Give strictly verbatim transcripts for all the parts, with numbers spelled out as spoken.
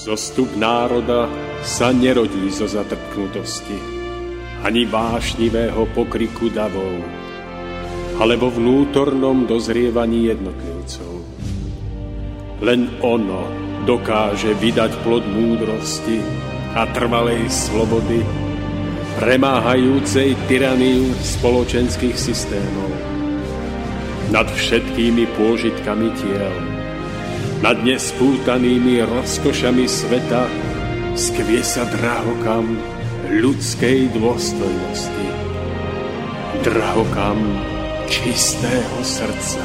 Zostup národa sa nerodí zo zatrpknutosti, ani vášnivého pokriku davov, ale vo vnútornom dozrievaní jednotlivcov. Len ono dokáže vydať plod múdrosti a trvalej slobody, premáhajúcej tyraniu spoločenských systémov. Nad všetkými pôžitkami tiel, nad nespútanými rozkošami sveta skvie sa drahokam ľudskej dôstojnosti. Drahokam čistého srdca.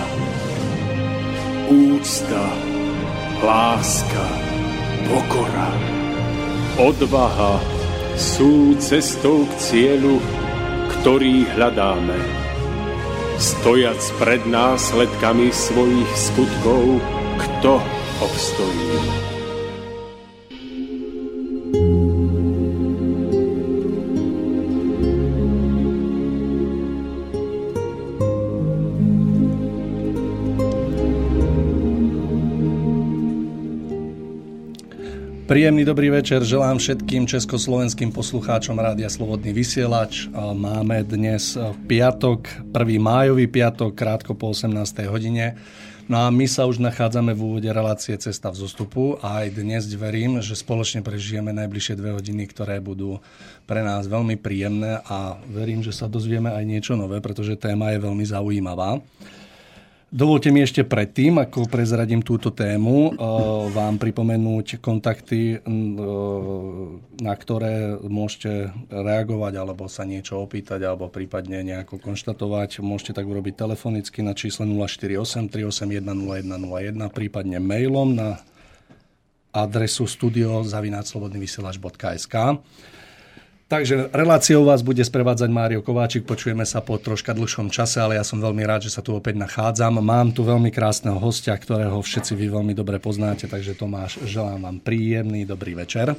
Úcta, láska, pokora, odvaha sú cestou k cieľu, ktorý hľadáme. Stojac pred následkami svojich skutkov, kto obstojí? Príjemný dobrý večer želám všetkým československým poslucháčom Rádia Slobodný vysielač. Máme dnes piatok, prvý májový piatok, krátko po osemnástej hodine. No a my sa už nachádzame v úvode relácie Cesta v zostupu a aj dnes verím, že spoločne prežijeme najbližšie dve hodiny, ktoré budú pre nás veľmi príjemné a verím, že sa dozvieme aj niečo nové, pretože téma je veľmi zaujímavá. Dovolte mi ešte predtým, ako prezradím túto tému, vám pripomenúť kontakty, na ktoré môžete reagovať alebo sa niečo opýtať alebo prípadne nejako konštatovať. Môžete tak urobiť telefonicky na čísle nula štyri osem tri osem jeden nula jeden nula jeden, prípadne mailom na adresu studio zavináč slobodný vysielač bodka es ká. Takže reláciou vás bude sprevádzať Mário Kováčik, počujeme sa po troška dlhšom čase, ale ja som veľmi rád, že sa tu opäť nachádzam. Mám tu veľmi krásneho hostia, ktorého všetci vy veľmi dobre poznáte, takže Tomáš, želám vám príjemný dobrý večer.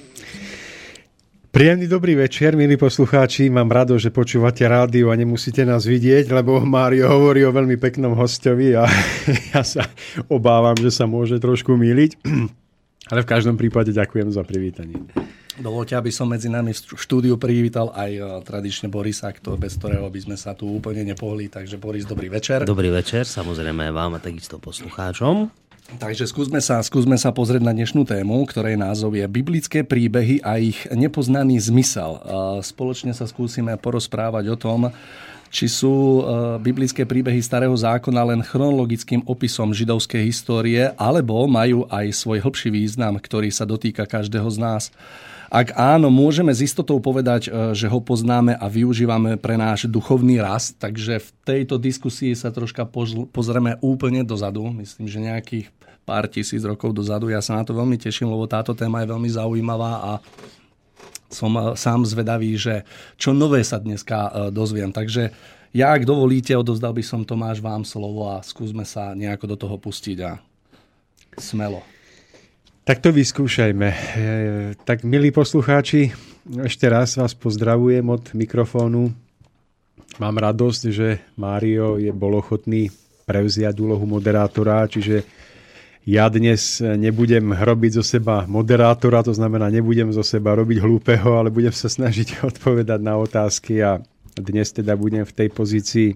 Príjemný dobrý večer, milí poslucháči, mám rado, že počúvate rádio a nemusíte nás vidieť, lebo Mário hovorí o veľmi peknom hostovi a ja sa obávam, že sa môže trošku mýliť, ale v každom prípade ďakujem za privítanie. Dovoľte, aby som medzi nami v štúdiu privítal aj tradične Borisa, bez ktorého by sme sa tu úplne nepohli. Takže Boris, dobrý večer. Dobrý večer, samozrejme vám a takisto poslucháčom. Takže skúsme sa, skúsme sa pozrieť na dnešnú tému, ktorej názov je Biblické príbehy a ich nepoznaný zmysel. Spoločne sa skúsime porozprávať o tom, či sú biblické príbehy Starého zákona len chronologickým opisom židovskej histórie, alebo majú aj svoj hlbší význam, ktorý sa dotýka každého z nás. Ak áno, môžeme s istotou povedať, že ho poznáme a využívame pre náš duchovný rast, takže v tejto diskusii sa troška pozrieme úplne dozadu, myslím, že nejakých pár tisíc rokov dozadu. Ja sa na to veľmi teším, lebo táto téma je veľmi zaujímavá a som sám zvedavý, že čo nové sa dneska dozviem. Takže ja, ak dovolíte, odovzdal by som Tomáš vám slovo a skúsme sa nejako do toho pustiť a smelo. Tak to vyskúšajme. Tak, milí poslucháči, ešte raz vás pozdravujem od mikrofónu. Mám radosť, že Mário je bol ochotný prevziať úlohu moderátora, čiže ja dnes nebudem robiť zo seba moderátora, to znamená, nebudem zo seba robiť hlúpeho, ale budem sa snažiť odpovedať na otázky a dnes teda budem v tej pozícii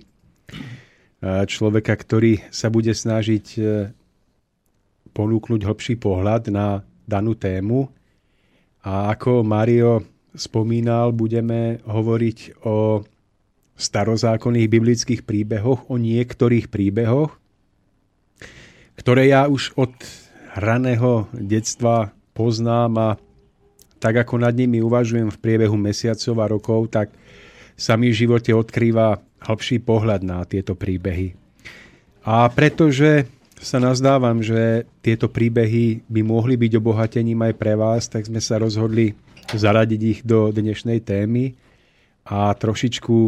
človeka, ktorý sa bude snažiť ponúknuť hlbší pohľad na danú tému. A ako Mário spomínal, budeme hovoriť o starozákonných biblických príbehoch, o niektorých príbehoch, ktoré ja už od raného detstva poznám a tak ako nad nimi uvažujem v priebehu mesiacov a rokov, tak sa mi v živote odkrýva hlbší pohľad na tieto príbehy. A pretože sa nazdávam, že tieto príbehy by mohli byť obohatením aj pre vás, tak sme sa rozhodli zaradiť ich do dnešnej témy a trošičku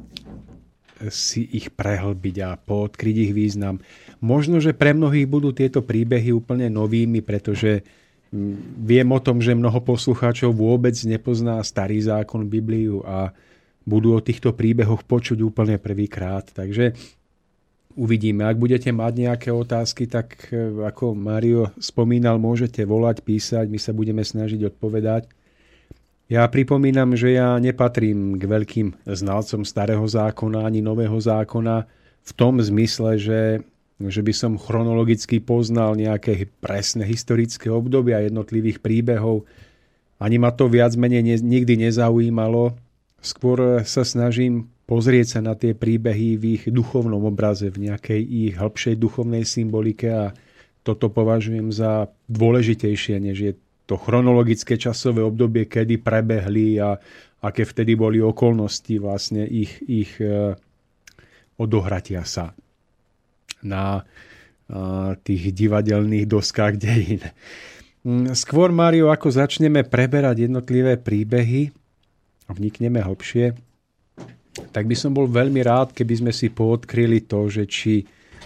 si ich prehlbiť a poodkryť ich význam. Možno, že pre mnohých budú tieto príbehy úplne novými, pretože viem o tom, že mnoho poslucháčov vôbec nepozná Starý zákon, Bibliu a budú o týchto príbehoch počuť úplne prvýkrát. Takže uvidíme. Ak budete mať nejaké otázky, tak ako Mário spomínal, môžete volať, písať, my sa budeme snažiť odpovedať. Ja pripomínam, že ja nepatrím k veľkým znalcom starého zákona ani nového zákona v tom zmysle, že, že by som chronologicky poznal nejaké presné historické obdobia jednotlivých príbehov. Ani ma to viac menej ne, nikdy nezaujímalo. Skôr sa snažím pozrieť sa na tie príbehy v ich duchovnom obraze, v nejakej ich hĺbšej duchovnej symbolike a toto považujem za dôležitejšie, než je to chronologické časové obdobie, kedy prebehli a aké vtedy boli okolnosti vlastne ich, ich odohratia sa na tých divadelných doskách dejín. Skôr, Mário, ako začneme preberať jednotlivé príbehy, vnikneme hlbšie, tak by som bol veľmi rád, keby sme si poodkryli to, že či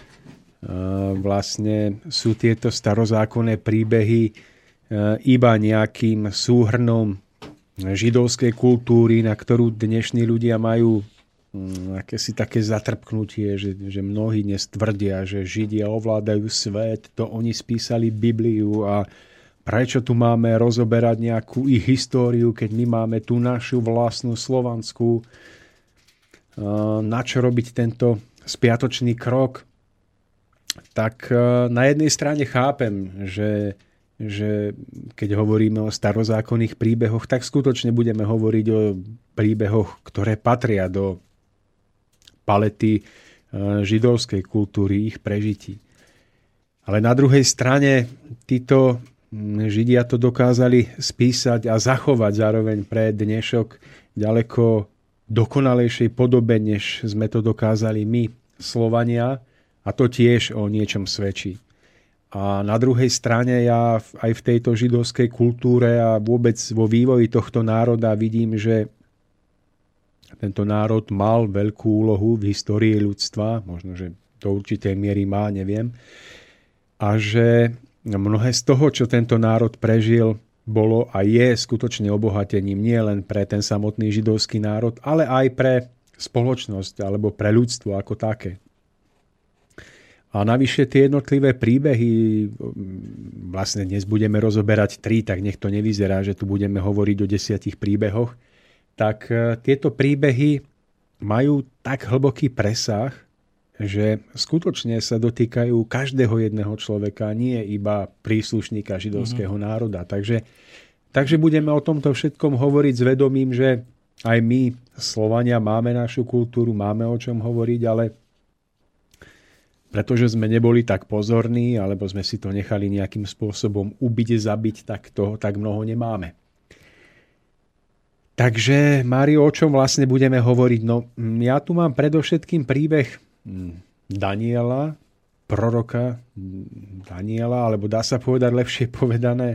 vlastne sú tieto starozákonné príbehy iba nejakým súhrnom židovskej kultúry, na ktorú dnešní ľudia majú akési také zatrpknutie, že, že mnohí dnes tvrdia, že Židia ovládajú svet, to oni spísali Bibliu a prečo tu máme rozoberať nejakú ich históriu, keď my máme tú našu vlastnú slovanskú. Na čo robiť tento spiatočný krok? Tak na jednej strane chápem, že že keď hovoríme o starozákonných príbehoch, tak skutočne budeme hovoriť o príbehoch, ktoré patria do palety židovskej kultúry, ich prežití. Ale na druhej strane títo Židia to dokázali spísať a zachovať zároveň pre dnešok ďaleko dokonalejšej podobe, než sme to dokázali my, Slovania, a to tiež o niečom svedčí. A na druhej strane ja aj v tejto židovskej kultúre a vôbec vo vývoji tohto národa vidím, že tento národ mal veľkú úlohu v histórii ľudstva, možno, že do určitej miery má, neviem. A že mnohé z toho, čo tento národ prežil, bolo a je skutočne obohatením nie len pre ten samotný židovský národ, ale aj pre spoločnosť alebo pre ľudstvo ako také. A navyše tie jednotlivé príbehy, vlastne dnes budeme rozoberať tri, tak nech to nevyzerá, že tu budeme hovoriť o desiatich príbehoch, tak tieto príbehy majú tak hlboký presah, že skutočne sa dotýkajú každého jedného človeka, nie iba príslušníka židovského mm-hmm. národa. Takže, takže budeme o tomto všetkom hovoriť s vedomím, že aj my, Slovania, máme našu kultúru, máme o čom hovoriť, ale pretože sme neboli tak pozorní, alebo sme si to nechali nejakým spôsobom ubiť, zabiť, tak toho tak mnoho nemáme. Takže, Mário, o čom vlastne budeme hovoriť? No, ja tu mám predovšetkým príbeh Daniela, proroka Daniela, alebo dá sa povedať lepšie povedané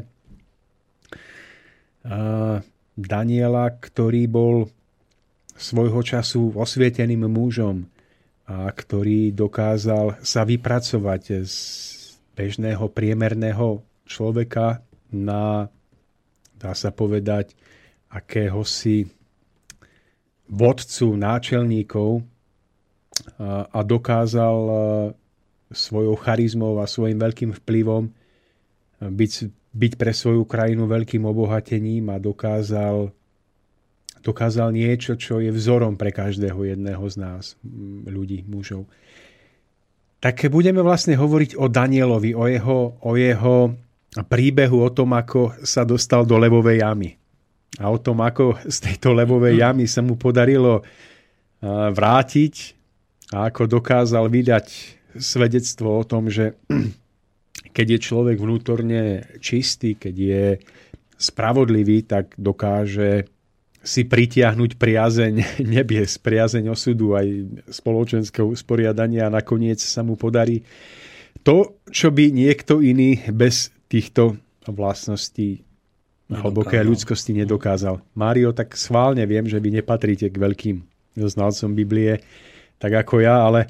Daniela, ktorý bol svojho času osvieteným mužom, a ktorý dokázal sa vypracovať z bežného priemerného človeka na, dá sa povedať, akéhosi vodcu náčelníkov a, a dokázal svojou charizmou a svojim veľkým vplyvom byť, byť pre svoju krajinu veľkým obohatením a dokázal dokázal niečo, čo je vzorom pre každého jedného z nás, ľudí, mužov. Tak budeme vlastne hovoriť o Danielovi, o jeho, o jeho príbehu, o tom, ako sa dostal do levovej jamy. A o tom, ako z tejto levovej jamy sa mu podarilo vrátiť a ako dokázal vydať svedectvo o tom, že keď je človek vnútorne čistý, keď je spravodlivý, tak dokáže si pritiahnuť priazeň nebies, priazeň osudu aj spoločenského usporiadania a nakoniec sa mu podarí to, čo by niekto iný bez týchto vlastností hlbokej ľudskosti nedokázal. Mário, tak schválne viem, že vy nepatríte k veľkým znalcom Biblie, tak ako ja, ale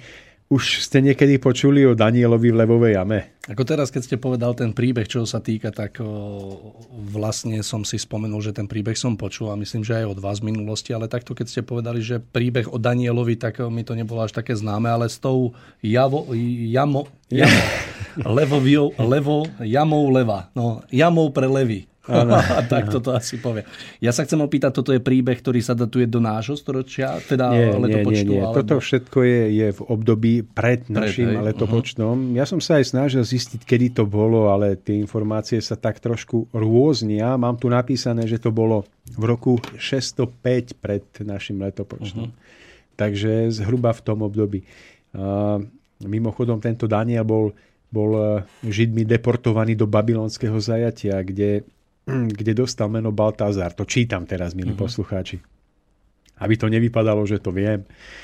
Už ste niekedy počuli o Danielovi v levovej jame? Ako teraz, keď ste povedal ten príbeh, čo sa týka, tak o, vlastne som si spomenul, že ten príbeh som počul a myslím, že aj od vás v minulosti, ale takto, keď ste povedali, že príbeh o Danielovi, tak mi to nebolo až také známe, ale s tou javo, jamo, jamo, levo, levo, jamou leva, no, jamou pre levy. Tak toto asi povie. Ja sa chcem opýtať, toto je príbeh, ktorý sa datuje do nášho storočia, teda nie, letopočtu? Nie, nie, nie. Alebo... Toto všetko je, je v období pred našim pred, letopočtom. Uh-huh. Ja som sa aj snažil zistiť, kedy to bolo, ale tie informácie sa tak trošku rôznia. Mám tu napísané, že to bolo v roku šesťstopäť pred našim letopočtom. Uh-huh. Takže zhruba v tom období. A mimochodom, tento Daniel bol, bol Židmi deportovaný do babylonského zajatia, kde kde dostal meno Baltazar. To čítam teraz, milí uh-huh. poslucháči. Aby to nevypadalo, že to viem.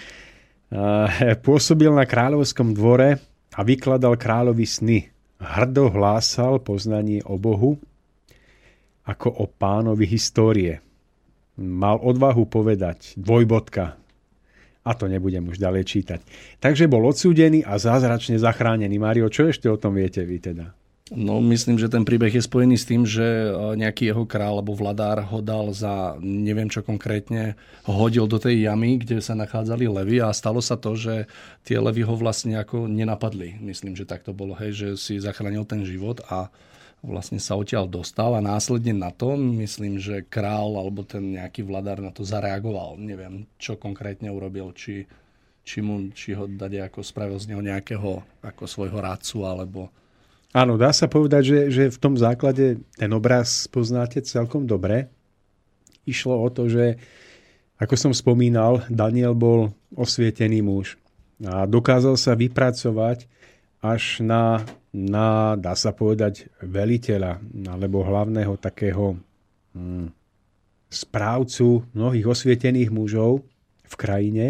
Pôsobil na kráľovskom dvore a vykladal kráľovi sny. Hrdo hlásal poznanie o Bohu ako o pánovi histórie. Mal odvahu povedať dvojbodka. A to nebudem už ďalej čítať. Takže bol odsúdený a zázračne zachránený. Mário, čo ešte o tom viete vy teda? No, myslím, že ten príbeh je spojený s tým, že nejaký jeho král alebo vladár ho dal za, neviem čo konkrétne, hodil do tej jamy, kde sa nachádzali levy a stalo sa to, že tie levy ho vlastne ako nenapadli. Myslím, že tak to bolo, hej, že si zachránil ten život a vlastne sa odtiaľ dostal a následne na to, myslím, že král alebo ten nejaký vladár na to zareagoval. Neviem, čo konkrétne urobil, či, či, mu, či ho dať ako spravil z neho nejakého ako svojho rádcu alebo... Áno, dá sa povedať, že, že v tom základe ten obraz poznáte celkom dobre. Išlo o to, že, ako som spomínal, Daniel bol osvietený muž a dokázal sa vypracovať až na, na dá sa povedať, veliteľa alebo hlavného takého hm, správcu mnohých osvietených mužov v krajine.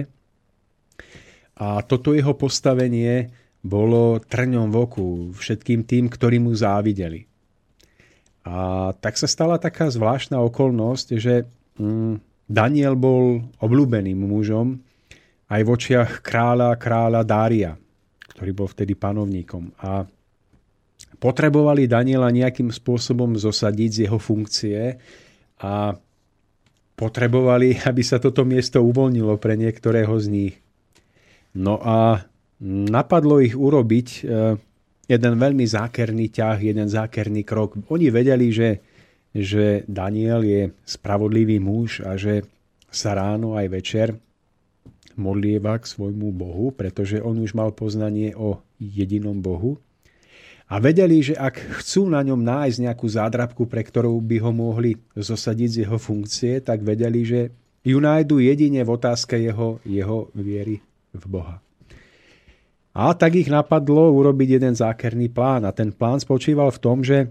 A toto jeho postavenie bolo trňom v oku všetkým tým, ktorí mu závideli. A tak sa stala taká zvláštna okolnosť, že Daniel bol obľúbeným mužom aj v očiach kráľa, kráľa Dária, ktorý bol vtedy panovníkom. A potrebovali Daniela nejakým spôsobom zosadiť z jeho funkcie a potrebovali, aby sa toto miesto uvoľnilo pre niektorého z nich. No a napadlo ich urobiť jeden veľmi zákerný ťah, jeden zákerný krok. Oni vedeli, že, že Daniel je spravodlivý muž a že sa ráno aj večer modlieva k svojmu Bohu, pretože on už mal poznanie o jedinom Bohu. A vedeli, že ak chcú na ňom nájsť nejakú zádrabku, pre ktorú by ho mohli zosadiť z jeho funkcie, tak vedeli, že ju nájdu jedine v otázke jeho, jeho viery v Boha. A tak ich napadlo urobiť jeden zákerný plán. A ten plán spočíval v tom, že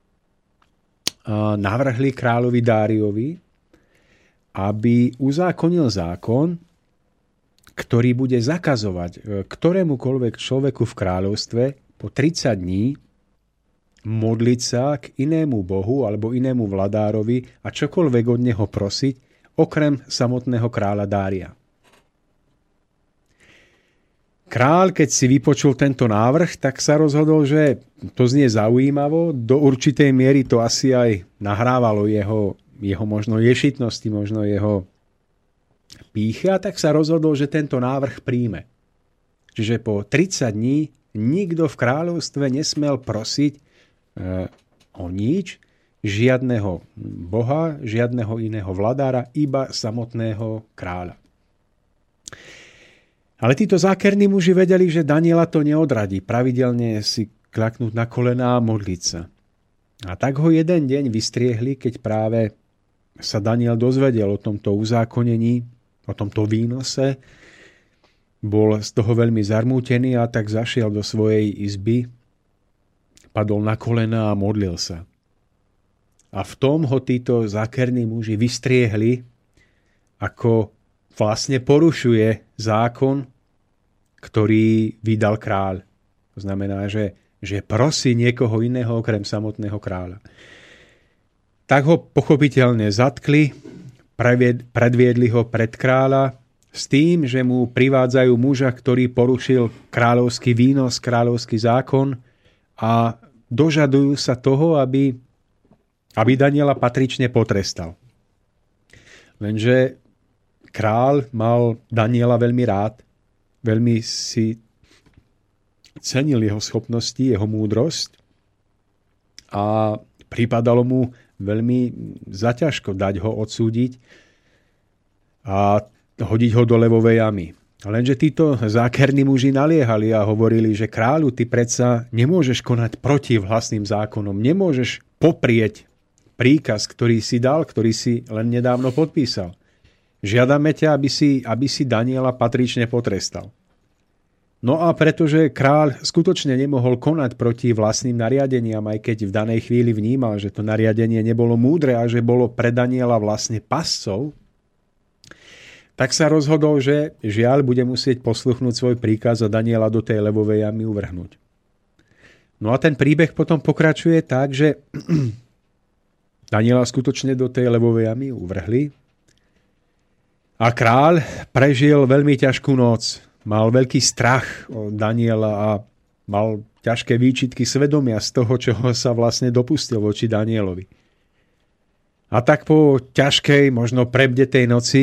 navrhli kráľovi Dáriovi, aby uzákonil zákon, ktorý bude zakazovať ktorémukoľvek človeku v kráľovstve po tridsať dní modliť sa k inému bohu alebo inému vladárovi a čokoľvek od neho prosiť, okrem samotného kráľa Dária. Kráľ, keď si vypočul tento návrh, tak sa rozhodol, že to znie zaujímavo. Do určitej miery to asi aj nahrávalo jeho, jeho možno ješitnosti, možno jeho pýchy. A tak sa rozhodol, že tento návrh príjme. Čiže po tridsať dní nikto v kráľovstve nesmel prosiť e, o nič, žiadneho boha, žiadneho iného vladára, iba samotného kráľa. Ale títo zákerní muži vedeli, že Daniela to neodradí. Pravidelne si klaknúť na kolená a modliť sa. A tak ho jeden deň vystriehli, keď práve sa Daniel dozvedel o tomto uzákonení, o tomto výnose. Bol z toho veľmi zarmútený a tak zašiel do svojej izby, padol na kolená a modlil sa. A v tom ho títo zákerní muži vystriehli, ako vlastne porušuje zákon, ktorý vydal kráľ. To znamená, že, že prosí niekoho iného okrem samotného kráľa. Tak ho pochopiteľne zatkli, predviedli ho pred kráľa s tým, že mu privádzajú muža, ktorý porušil kráľovský výnos, kráľovský zákon a dožadujú sa toho, aby, aby Daniela patrične potrestal. Lenže kráľ mal Daniela veľmi rád, veľmi si cenil jeho schopnosti, jeho múdrosť a pripadalo mu veľmi zaťažko dať ho odsúdiť a hodiť ho do levovej jamy. Lenže títo zákerní muži naliehali a hovorili, že kráľu, ty predsa nemôžeš konať proti vlastným zákonom, nemôžeš poprieť príkaz, ktorý si dal, ktorý si len nedávno podpísal. Žiadame ťa, aby si, aby si Daniela patrične potrestal. No a pretože kráľ skutočne nemohol konať proti vlastným nariadeniam, aj keď v danej chvíli vnímal, že to nariadenie nebolo múdre a že bolo pre Daniela vlastne pascov, tak sa rozhodol, že žiaľ bude musieť posluchnúť svoj príkaz a Daniela do tej levovej jamy uvrhnúť. No a ten príbeh potom pokračuje tak, že Daniela skutočne do tej levovej jamy uvrhli a kráľ prežil veľmi ťažkú noc. Mal veľký strach od Daniela a mal ťažké výčitky svedomia z toho, čoho sa vlastne dopustil voči Danielovi. A tak po ťažkej, možno prebdetej noci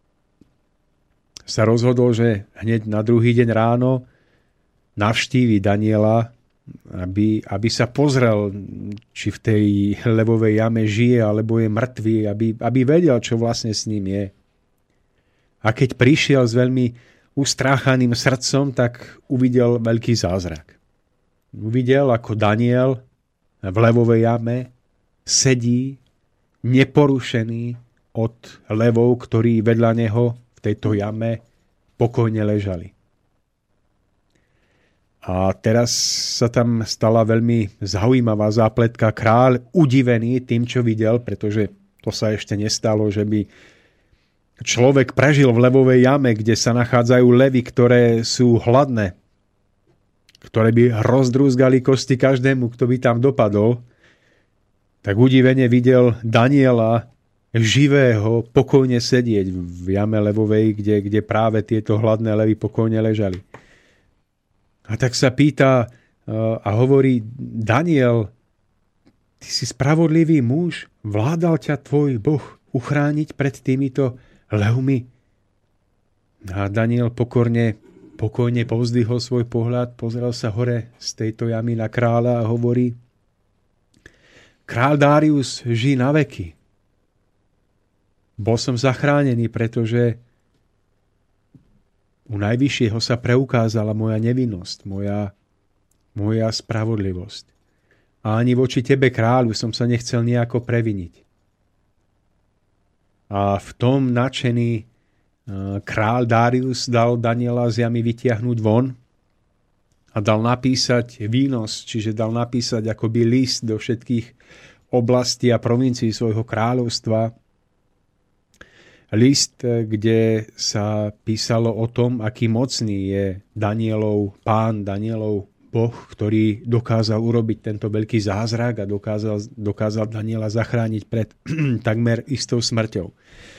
sa rozhodol, že hneď na druhý deň ráno navštívi Daniela, aby, aby sa pozrel, či v tej levovej jame žije, alebo je mŕtvý, aby, aby vedel, čo vlastne s ním je. A keď prišiel s veľmi ustráchaným srdcom, tak uvidel veľký zázrak. Uvidel, ako Daniel v levovej jame sedí neporušený od levov, ktorí vedľa neho tejto jame pokojne ležali. A teraz sa tam stala veľmi zaujímavá zápletka. Kráľ udivený tým, čo videl, pretože to sa ešte nestalo, že by človek prežil v levovej jame, kde sa nachádzajú levy, ktoré sú hladné, ktoré by rozdrúzgali kosti každému, kto by tam dopadol, tak udivene videl Daniela živého pokojne sedieť v jame levovej, kde, kde práve tieto hladné levy pokojne ležali. A tak sa pýta a hovorí: Daniel, ty si spravodlivý muž, vládal ťa tvoj Boh uchrániť pred týmito levmi? A Daniel pokorne, pokojne povzdvihol svoj pohľad, pozrel sa hore z tejto jamy na kráľa a hovorí: Kráľ Darius, žij na veky. Bol som zachránený, pretože u Najvyššieho sa preukázala moja nevinnosť, moja, moja spravodlivosť. A ani voči tebe, kráľu, som sa nechcel nejako previniť. A v tom nadšený kráľ Darius dal Daniela z jamy vytiahnuť von a dal napísať výnos, čiže dal napísať akoby list do všetkých oblastí a provincií svojho kráľovstva. List, kde sa písalo o tom, aký mocný je Danielov pán, Danielov Boh, ktorý dokázal urobiť tento veľký zázrak a dokázal, dokázal Daniela zachrániť pred takmer istou smrťou.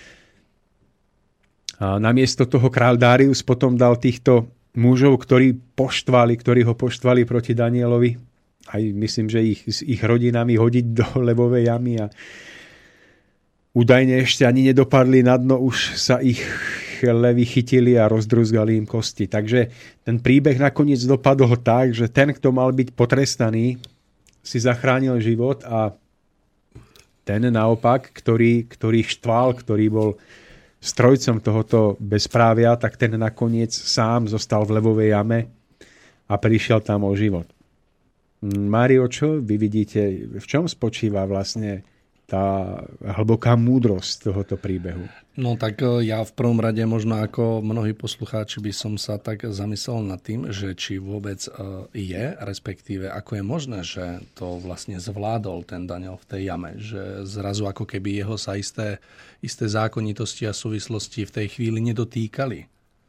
A namiesto toho kráľ Darius potom dal týchto mužov, ktorí poštvali, ktorí ho poštvali proti Danielovi, aj myslím, že ich, s ich rodinami hodiť do levovej jamy a údajne ešte ani nedopadli na dno, už sa ich levy chytili a rozdruzgali im kosti. Takže ten príbeh nakoniec dopadol tak, že ten, kto mal byť potrestaný, si zachránil život a ten naopak, ktorý, ktorý štval, ktorý bol strojcom tohoto bezprávia, tak ten nakoniec sám zostal v levovej jame a prišiel tam o život. Mário, čo vy vidíte, v čom spočíva vlastne tá hlboká múdrosť tohoto príbehu? No tak ja v prvom rade, možno ako mnohí poslucháči, by som sa tak zamyslel nad tým, že či vôbec je, respektíve ako je možné, že to vlastne zvládol ten Daniel v tej jame, že zrazu ako keby jeho sa isté, isté zákonitosti a súvislosti v tej chvíli nedotýkali.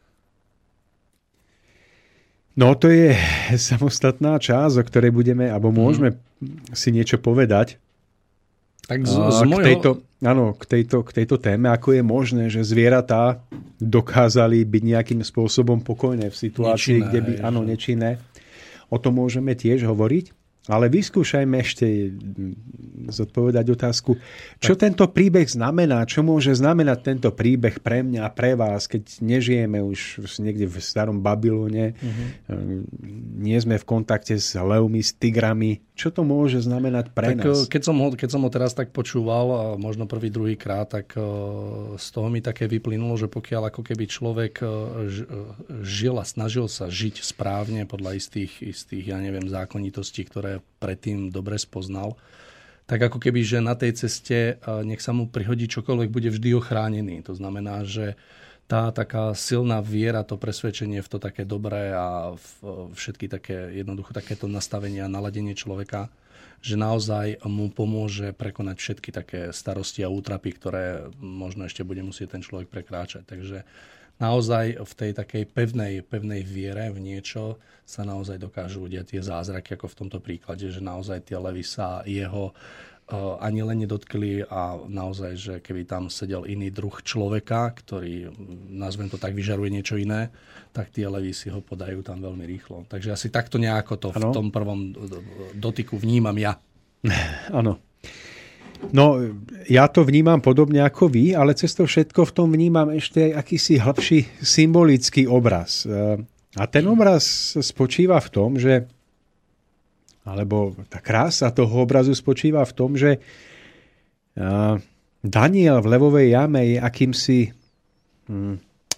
No to je samostatná časť, o ktorej budeme, alebo môžeme hmm. si niečo povedať. Tak z, z môjho... k, tejto, áno, k, tejto, k tejto téme, ako je možné, že zvieratá dokázali byť nejakým spôsobom pokojné v situácii, nečinné, kde by, áno, nečinné. O tom môžeme tiež hovoriť. Ale vyskúšajme ešte zodpovedať otázku, čo tak tento príbeh znamená, čo môže znamenať tento príbeh pre mňa a pre vás, keď nežijeme už niekde v starom Babylone, uh-huh. nie sme v kontakte s levmi, s tigrami. Čo to môže znamenať pre tak, nás? Keď som, ho, keď som ho teraz tak počúval, možno prvý, druhý krát, tak z toho mi také vyplynulo, že pokiaľ ako keby človek žil a snažil sa žiť správne podľa istých, istých ja neviem, zákonitostí, ktoré predtým dobre spoznal, tak ako keby, že na tej ceste nech sa mu prihodí čokoľvek, bude vždy ochránený. To znamená, že tá taká silná viera, to presvedčenie v to také dobré a v všetky také, jednoducho takéto nastavenie a naladenie človeka, že naozaj mu pomôže prekonať všetky také starosti a útrapy, ktoré možno ešte bude musieť ten človek prekráčať. Takže naozaj v tej takej pevnej, pevnej viere v niečo sa naozaj dokážu udiať tie zázraky, ako v tomto príklade, že naozaj tie levy sa jeho uh, ani len nedotkli a naozaj, že keby tam sedel iný druh človeka, ktorý, nazvem to tak, vyžaruje niečo iné, tak tie levy si ho podajú tam veľmi rýchlo. Takže asi takto nejako to ano. v tom prvom dotyku vnímam ja. Áno. No, ja to vnímam podobne ako vy, ale cez to všetko v tom vnímam ešte aj akýsi hĺbší symbolický obraz. A ten obraz spočíva v tom, že, alebo tá krása toho obrazu spočíva v tom, že Daniel v levovej jame je akýmsi hm,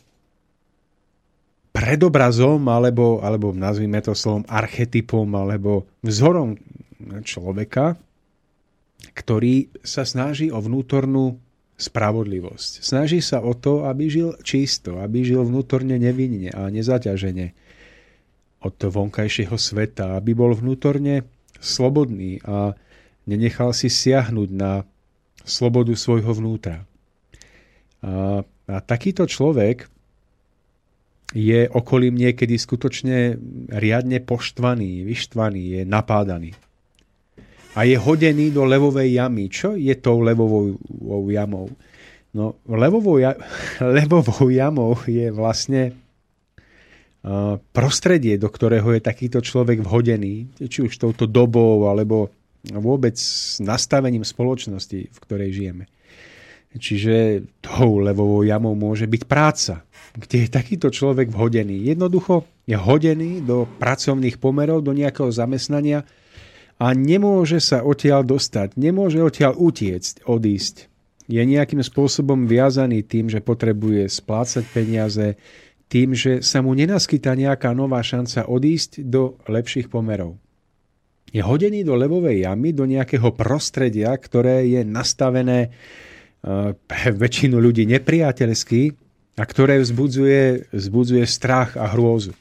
predobrazom, alebo, alebo nazvime to slovom archetypom, alebo vzorom človeka, ktorý sa snaží o vnútornú spravodlivosť. Snaží sa o to, aby žil čisto, aby žil vnútorne nevinne a nezaťažene od vonkajšieho sveta, aby bol vnútorne slobodný a nenechal si siahnuť na slobodu svojho vnútra. A, a takýto človek je okolím niekedy skutočne riadne poštvaný, vyštvaný, je napádaný. A je hodený do levovej jamy. Čo je tou levovou jamou? No, levovou, ja, levovou jamou je vlastne uh, prostredie, do ktorého je takýto človek vhodený, či už touto dobou, alebo vôbec nastavením spoločnosti, v ktorej žijeme. Čiže tou levovou jamou môže byť práca, kde je takýto človek vhodený. Jednoducho je hodený do pracovných pomerov, do nejakého zamestnania, a nemôže sa odtiaľ dostať, nemôže odtiaľ utiecť, odísť. Je nejakým spôsobom viazaný tým, že potrebuje splácať peniaze, tým, že sa mu nenaskytá nejaká nová šanca odísť do lepších pomerov. Je hodený do levovej jamy, do nejakého prostredia, ktoré je nastavené pre väčšinu ľudí nepriateľsky a ktoré vzbudzuje, vzbudzuje strach a hrôzu.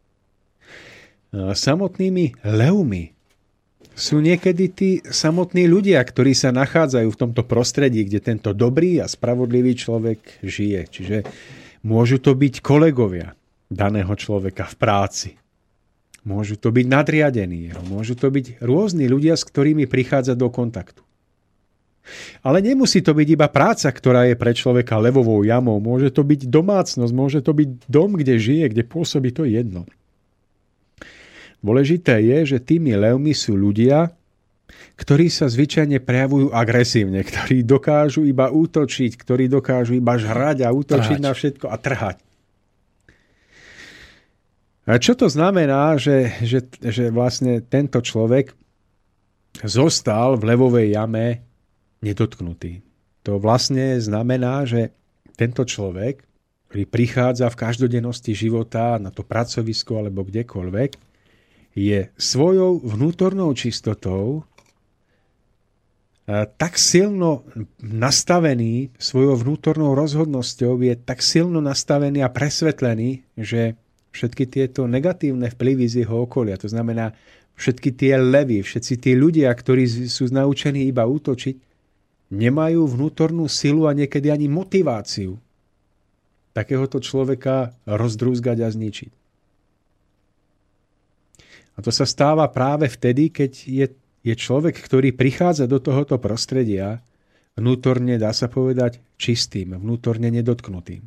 Samotnými levmi sú niekedy tí samotní ľudia, ktorí sa nachádzajú v tomto prostredí, kde tento dobrý a spravodlivý človek žije. Čiže môžu to byť kolegovia daného človeka v práci. Môžu to byť nadriadení, môžu to byť rôzni ľudia, s ktorými prichádza do kontaktu. Ale nemusí to byť iba práca, ktorá je pre človeka levovou jamou. Môže to byť domácnosť, môže to byť dom, kde žije, kde pôsobí, to jedno. Dôležité je, že tými levmi sú ľudia, ktorí sa zvyčajne prejavujú agresívne, ktorí dokážu iba útočiť, ktorí dokážu iba žrať a útočiť trhať na všetko a trhať. A čo to znamená, že, že, že vlastne tento človek zostal v levovej jame nedotknutý? To vlastne znamená, že tento človek, ktorý prichádza v každodennosti života na to pracovisko alebo kdekoľvek, je svojou vnútornou čistotou tak silno nastavený, svojou vnútornou rozhodnosťou je tak silno nastavený a presvetlený, že všetky tieto negatívne vplyvy z jeho okolia, to znamená všetky tie levy, všetci tí ľudia, ktorí sú naučení iba útočiť, nemajú vnútornú silu a niekedy ani motiváciu takéhoto človeka rozdrúzgať a zničiť. A to sa stáva práve vtedy, keď je, je človek, ktorý prichádza do tohoto prostredia vnútorne, dá sa povedať, čistým, vnútorne nedotknutým.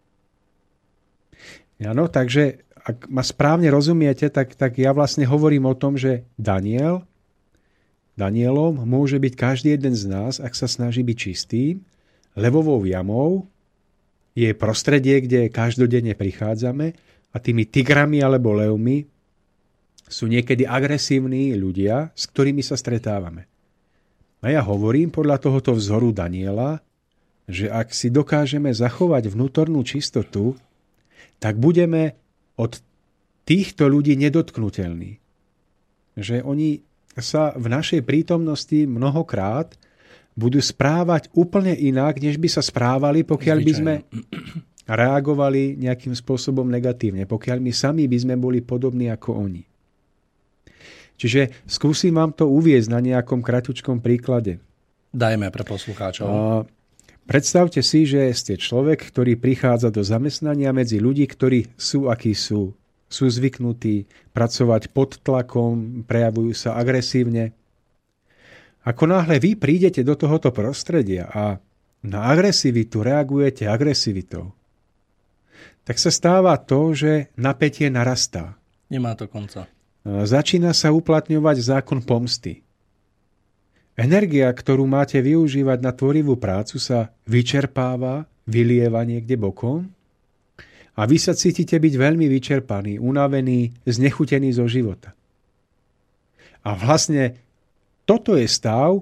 Áno, takže ak ma správne rozumiete, tak, tak ja vlastne hovorím o tom, že Daniel, Danielom môže byť každý jeden z nás, ak sa snaží byť čistý. Levovou jamou je prostredie, kde každodenne prichádzame a tými tigrami alebo levmi sú niekedy agresívni ľudia, s ktorými sa stretávame. A ja hovorím podľa tohoto vzoru Daniela, že ak si dokážeme zachovať vnútornú čistotu, tak budeme od týchto ľudí nedotknutelní. Že oni sa v našej prítomnosti mnohokrát budú správať úplne inak, než by sa správali, pokiaľ by sme reagovali nejakým spôsobom negatívne, pokiaľ my sami by sme boli podobní ako oni. Čiže skúsim vám to uviesť na nejakom kratučkom príklade. Dajme pre poslucháčov. A predstavte si, že ste človek, ktorý prichádza do zamestnania medzi ľudí, ktorí sú, akí sú. Sú zvyknutí pracovať pod tlakom, prejavujú sa agresívne. Ako náhle vy prídete do tohoto prostredia a na agresivitu reagujete agresivitou, tak sa stáva to, že napätie narastá. Nemá to konca. Začína sa uplatňovať zákon pomsty. Energia, ktorú máte využívať na tvorivú prácu, sa vyčerpáva, vylieva niekde bokom a vy sa cítite byť veľmi vyčerpaný, unavený, znechutený zo života. A vlastne toto je stav,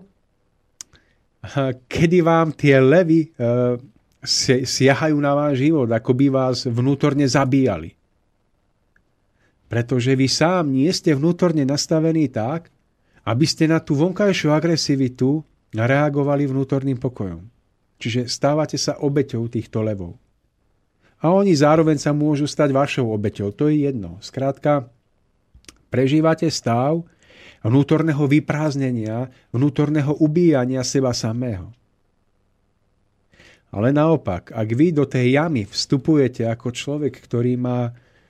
kedy vám tie levy siahajú na váš život, ako by vás vnútorne zabíjali. Pretože vy sám nie ste vnútorne nastavení tak, aby ste na tú vonkajšiu agresivitu reagovali vnútorným pokojom. Čiže stávate sa obeťou týchto levov. A oni zároveň sa môžu stať vašou obeťou. To je jedno. Skrátka, prežívate stav vnútorného vyprázdnenia, vnútorného ubíjania seba samého. Ale naopak, ak vy do tej jamy vstupujete ako človek, ktorý má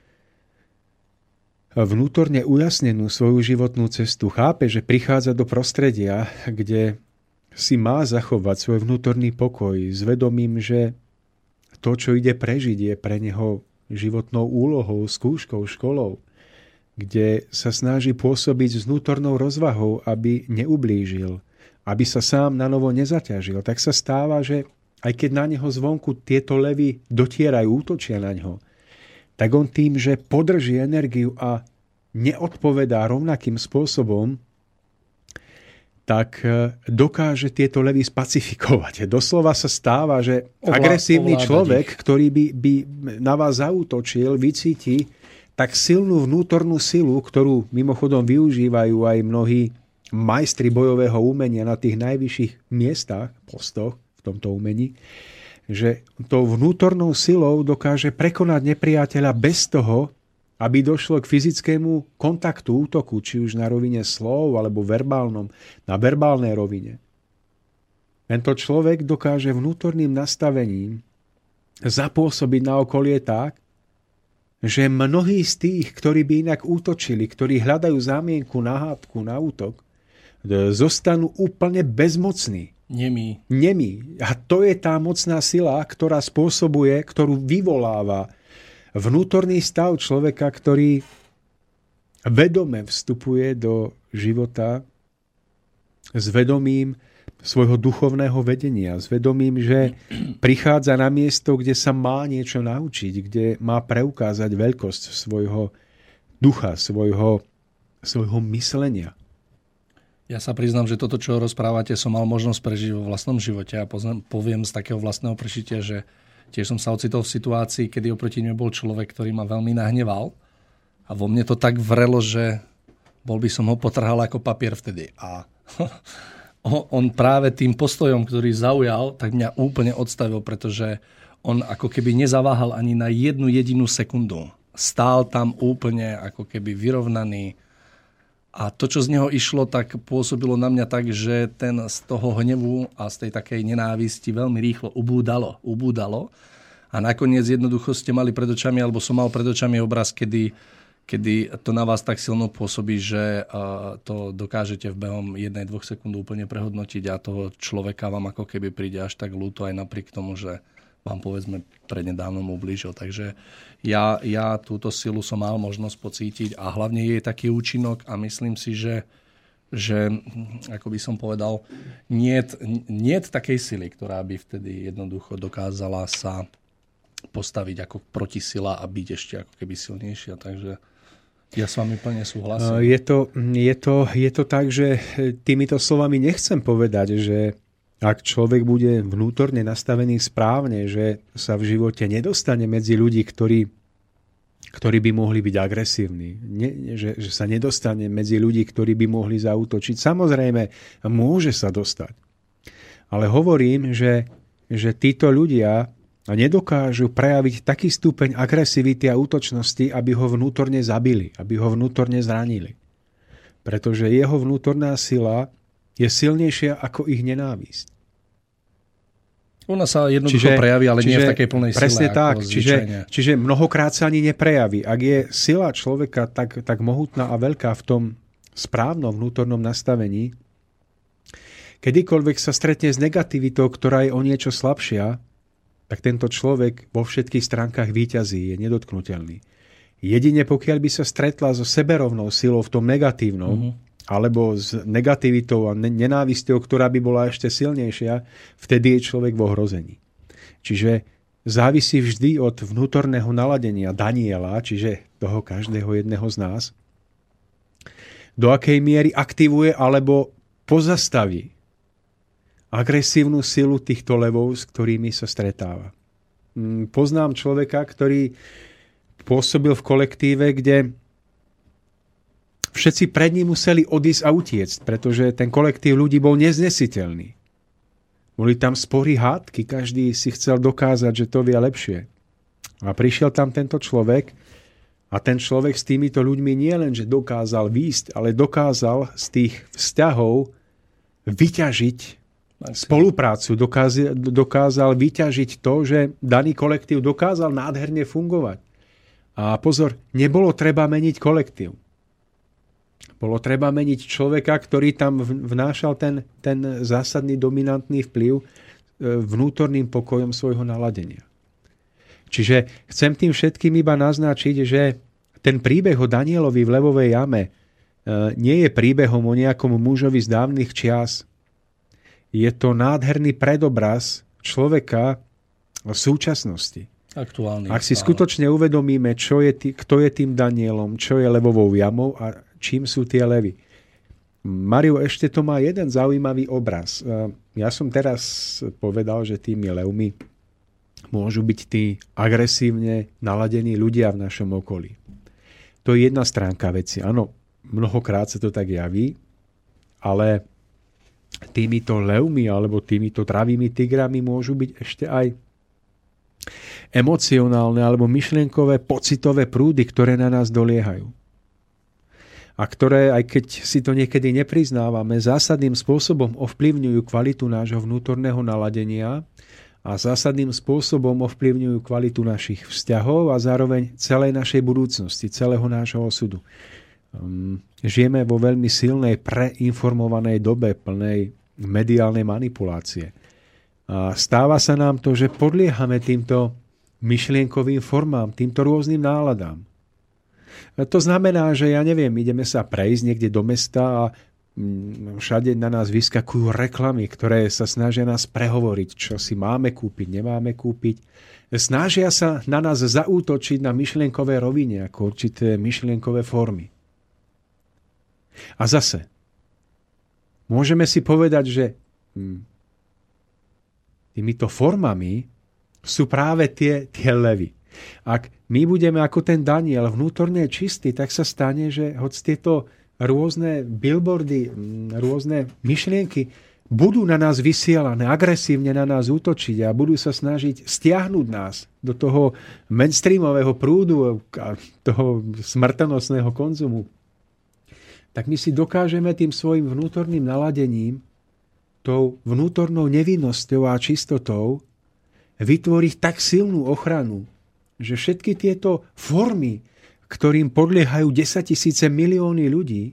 vnútorne ujasnenú svoju životnú cestu, chápe, že prichádza do prostredia, kde si má zachovať svoj vnútorný pokoj s vedomím, že to, čo ide prežiť, je pre neho životnou úlohou, skúškou, školou, kde sa snaží pôsobiť s vnútornou rozvahou, aby neublížil, aby sa sám na novo nezaťažil, tak sa stáva, že aj keď na neho zvonku tieto levy dotierajú, útočia na neho, tak on tým, že podrží energiu a neodpovedá rovnakým spôsobom, tak dokáže tieto levy spacifikovať. Doslova sa stáva, že agresívny človek, ktorý by, by na vás zaútočil, vycíti tak silnú vnútornú silu, ktorú mimochodom využívajú aj mnohí majstri bojového umenia na tých najvyšších miestach, postoch v tomto umení, že tou vnútornou silou dokáže prekonať nepriateľa bez toho, aby došlo k fyzickému kontaktu, útoku, či už na rovine slov, alebo verbálnom, na verbálnej rovine. Tento človek dokáže vnútorným nastavením zapôsobiť na okolie tak, že mnohí z tých, ktorí by inak útočili, ktorí hľadajú zámienku na hádku, na útok, zostanú úplne bezmocní. Nemí. Nemí. A to je tá mocná sila, ktorá spôsobuje, ktorú vyvoláva vnútorný stav človeka, ktorý vedome vstupuje do života s vedomím svojho duchovného vedenia, s vedomím, že prichádza na miesto, kde sa má niečo naučiť, kde má preukázať veľkosť svojho ducha, svojho, svojho myslenia. Ja sa priznám, že toto, čo rozprávate, som mal možnosť prežiť vo vlastnom živote a poviem z takého vlastného prežitia, že tiež som sa ocitol v situácii, kedy oproti mne bol človek, ktorý ma veľmi nahneval a vo mne to tak vrelo, že bol by som ho potrhal ako papier vtedy. A on práve tým postojom, ktorý zaujal, tak mňa úplne odstavil, pretože on ako keby nezaváhal ani na jednu jedinú sekundu. Stál tam úplne ako keby vyrovnaný. A to, čo z neho išlo, tak pôsobilo na mňa tak, že ten z toho hnevu a z tej takej nenávisti veľmi rýchlo ubúdalo. ubúdalo. A nakoniec jednoducho ste mali pred očami, alebo som mal pred očami obraz, kedy, kedy to na vás tak silno pôsobí, že to dokážete v behom jednej, dvoch sekúnd úplne prehodnotiť a toho človeka vám ako keby príde až tak ľúto aj napriek tomu, že vám povedzme prednedávnom ublížil. Takže ja, ja túto silu som mal možnosť pocítiť a hlavne je taký účinok a myslím si, že, že ako by som povedal, niet, niet takej sily, ktorá by vtedy jednoducho dokázala sa postaviť ako protisila a byť ešte ako keby silnejšia. Takže ja s vami plne súhlasím. Je to, je to, je to tak, že týmito slovami nechcem povedať, že ak človek bude vnútorne nastavený správne, že sa v živote nedostane medzi ľudí, ktorí, ktorí by mohli byť agresívni, ne, že, že sa nedostane medzi ľudí, ktorí by mohli zaútočiť. Samozrejme, môže sa dostať. Ale hovorím, že, že títo ľudia nedokážu prejaviť taký stupeň agresivity a útočnosti, aby ho vnútorne zabili, aby ho vnútorne zranili. Pretože jeho vnútorná sila je silnejšia ako ich nenávisť. Ona sa jednoducho čiže, prejaví, ale čiže, nie v takej plnej sile. Presne tak. Čiže, čiže mnohokrát sa ani neprejaví. Ak je sila človeka tak, tak mohutná a veľká v tom správnom vnútornom nastavení, kedykoľvek sa stretne s negativitou, ktorá je o niečo slabšia, tak tento človek vo všetkých stránkach víťazí, je nedotknutelný. Jedine pokiaľ by sa stretla so seberovnou silou v tom negatívnom, mm-hmm. alebo s negativitou a nenávisťou, ktorá by bola ešte silnejšia, vtedy je človek v ohrození. Čiže závisí vždy od vnútorného naladenia Daniela, čiže toho každého jedného z nás, do akej miery aktivuje alebo pozastaví agresívnu silu týchto levov, s ktorými sa stretáva. Poznám človeka, ktorý pôsobil v kolektíve, kde všetci pred ním museli odísť a utiecť, pretože ten kolektív ľudí bol neznesiteľný. Boli tam spory, hádky, každý si chcel dokázať, že to vie lepšie. A prišiel tam tento človek a ten človek s týmito ľuďmi nie len, že dokázal výjsť, ale dokázal z tých vzťahov vyťažiť spoluprácu, dokázal, dokázal vyťažiť to, že daný kolektív dokázal nádherne fungovať. A pozor, nebolo treba meniť kolektív. Bolo treba meniť človeka, ktorý tam vnášal ten, ten zásadný dominantný vplyv vnútorným pokojom svojho naladenia. Čiže chcem tým všetkým iba naznačiť, že ten príbeh o Danielovi v levovej jame nie je príbehom o nejakom mužovi z dávnych čias. Je to nádherný predobraz človeka v súčasnosti. Aktuálny. Ak si skutočne uvedomíme, čo je tý, kto je tým Danielom, čo je levovou jamou a čím sú tie levy. Mario, ešte to má jeden zaujímavý obraz. Ja som teraz povedal, že tými levmi môžu byť tí agresívne naladení ľudia v našom okolí. To je jedna stránka veci. Áno, mnohokrát sa to tak javí, ale týmito levmi alebo týmito dravými tigrami môžu byť ešte aj emocionálne alebo myšlienkové, pocitové prúdy, ktoré na nás doliehajú. A ktoré, aj keď si to niekedy nepriznávame, zásadným spôsobom ovplyvňujú kvalitu nášho vnútorného naladenia a zásadným spôsobom ovplyvňujú kvalitu našich vzťahov a zároveň celej našej budúcnosti, celého nášho osudu. Žijeme vo veľmi silnej, preinformovanej dobe, plnej mediálnej manipulácie. A stáva sa nám to, že podliehame týmto myšlienkovým formám, týmto rôznym náladám. A to znamená, že ja neviem, ideme sa prejsť niekde do mesta a všade na nás vyskakujú reklamy, ktoré sa snažia nás prehovoriť, čo si máme kúpiť, nemáme kúpiť. Snažia sa na nás zaútočiť na myšlienkové rovine, ako určité myšlienkové formy. A zase, môžeme si povedať, že hm, týmito formami sú práve tie, tie levy. Ak my budeme ako ten Daniel vnútorne čistý, tak sa stane, že hoď tieto rôzne billboardy, rôzne myšlienky budú na nás vysielané, agresívne na nás útočiť a budú sa snažiť stiahnuť nás do toho mainstreamového prúdu a toho smrtonosného konzumu, tak my si dokážeme tým svojim vnútorným naladením, tou vnútornou nevinnosťou a čistotou vytvoriť tak silnú ochranu, že všetky tieto formy ktorým podliehajú desaťtisíce milióny ľudí,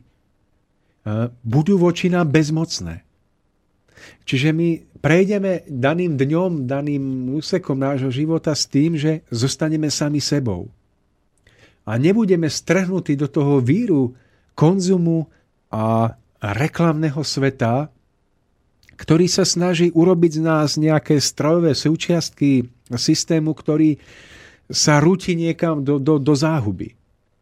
budú voči nám bezmocné. Čiže my prejdeme daným dňom, daným úsekom nášho života s tým, že zostaneme sami sebou. A nebudeme strhnutí do toho víru konzumu a reklamného sveta, ktorý sa snaží urobiť z nás nejaké strojové súčiastky systému, ktorý sa rúti niekam do, do, do záhuby.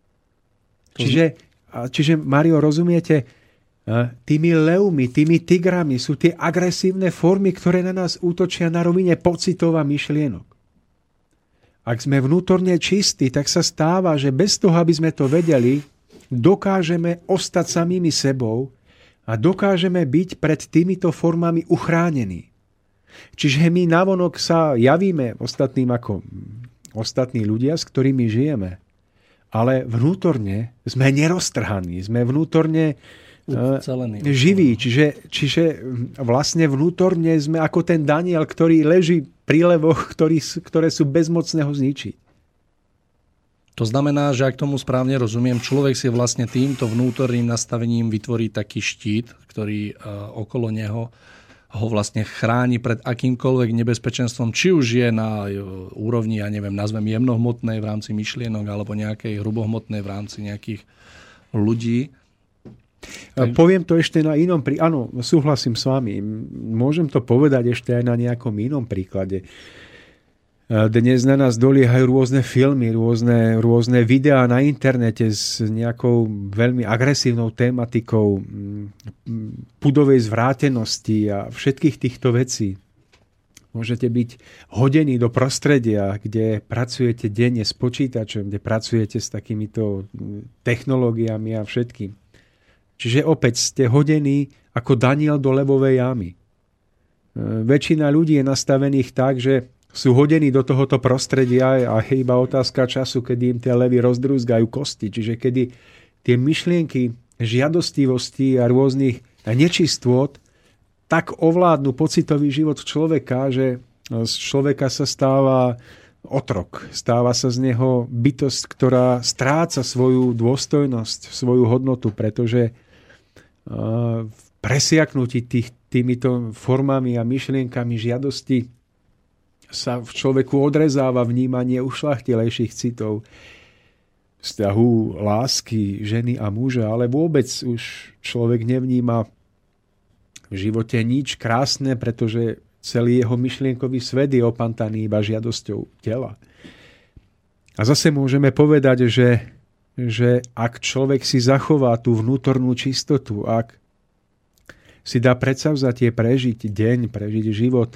Čiže, čiže, Mário, rozumiete, tými levmi, tými tigrami sú tie agresívne formy, ktoré na nás útočia na rovine pocitov a myšlienok. Ak sme vnútorne čistí, tak sa stáva, že bez toho, aby sme to vedeli, dokážeme ostať samými sebou a dokážeme byť pred týmito formami uchránení. Čiže my navonok sa javíme ostatným ako ostatní ľudia, s ktorými žijeme, ale vnútorne sme neroztrhaní, sme vnútorne ucelený. Živí, čiže, čiže vlastne vnútorne sme ako ten Daniel, ktorý leží pri levoch, ktorý, ktoré sú bezmocné ho zničiť. To znamená, že ak tomu správne rozumiem, človek si vlastne týmto vnútorným nastavením vytvorí taký štít, ktorý okolo neho ho vlastne chráni pred akýmkoľvek nebezpečenstvom, či už je na úrovni, ja neviem, nazvem jemnohmotnej v rámci myšlienok alebo nejakej hrubohmotnej v rámci nejakých ľudí. Tak... Poviem to ešte na inom príklade. Áno, súhlasím s vami. Môžem to povedať ešte aj na nejakom inom príklade. Dnes na nás doliehajú rôzne filmy, rôzne, rôzne videá na internete s nejakou veľmi agresívnou tématikou pudovej zvrátenosti a všetkých týchto vecí. Môžete byť hodení do prostredia, kde pracujete denne s počítačom, kde pracujete s takýmito technológiami a všetkým. Čiže opäť ste hodení ako Daniel do levovej jamy. Väčšina ľudí je nastavených tak, že sú hodení do tohoto prostredia a je iba otázka času, kedy im tie levy rozdrúzgajú kosti. Čiže kedy tie myšlienky žiadostivosti a rôznych nečistôt tak ovládnu pocitový život človeka, že z človeka sa stáva otrok. Stáva sa z neho bytosť, ktorá stráca svoju dôstojnosť, svoju hodnotu, pretože v presiaknutí tých, týmito formami a myšlienkami žiadosti sa v človeku odrezáva vnímanie ušľachtilejších citov, vzťahu lásky ženy a muža, ale vôbec už človek nevníma v živote nič krásne, pretože celý jeho myšlienkový svet je opantaný iba žiadosťou tela. A zase môžeme povedať, že, že ak človek si zachová tú vnútornú čistotu, ak si dá predsavzatie prežiť deň, prežiť život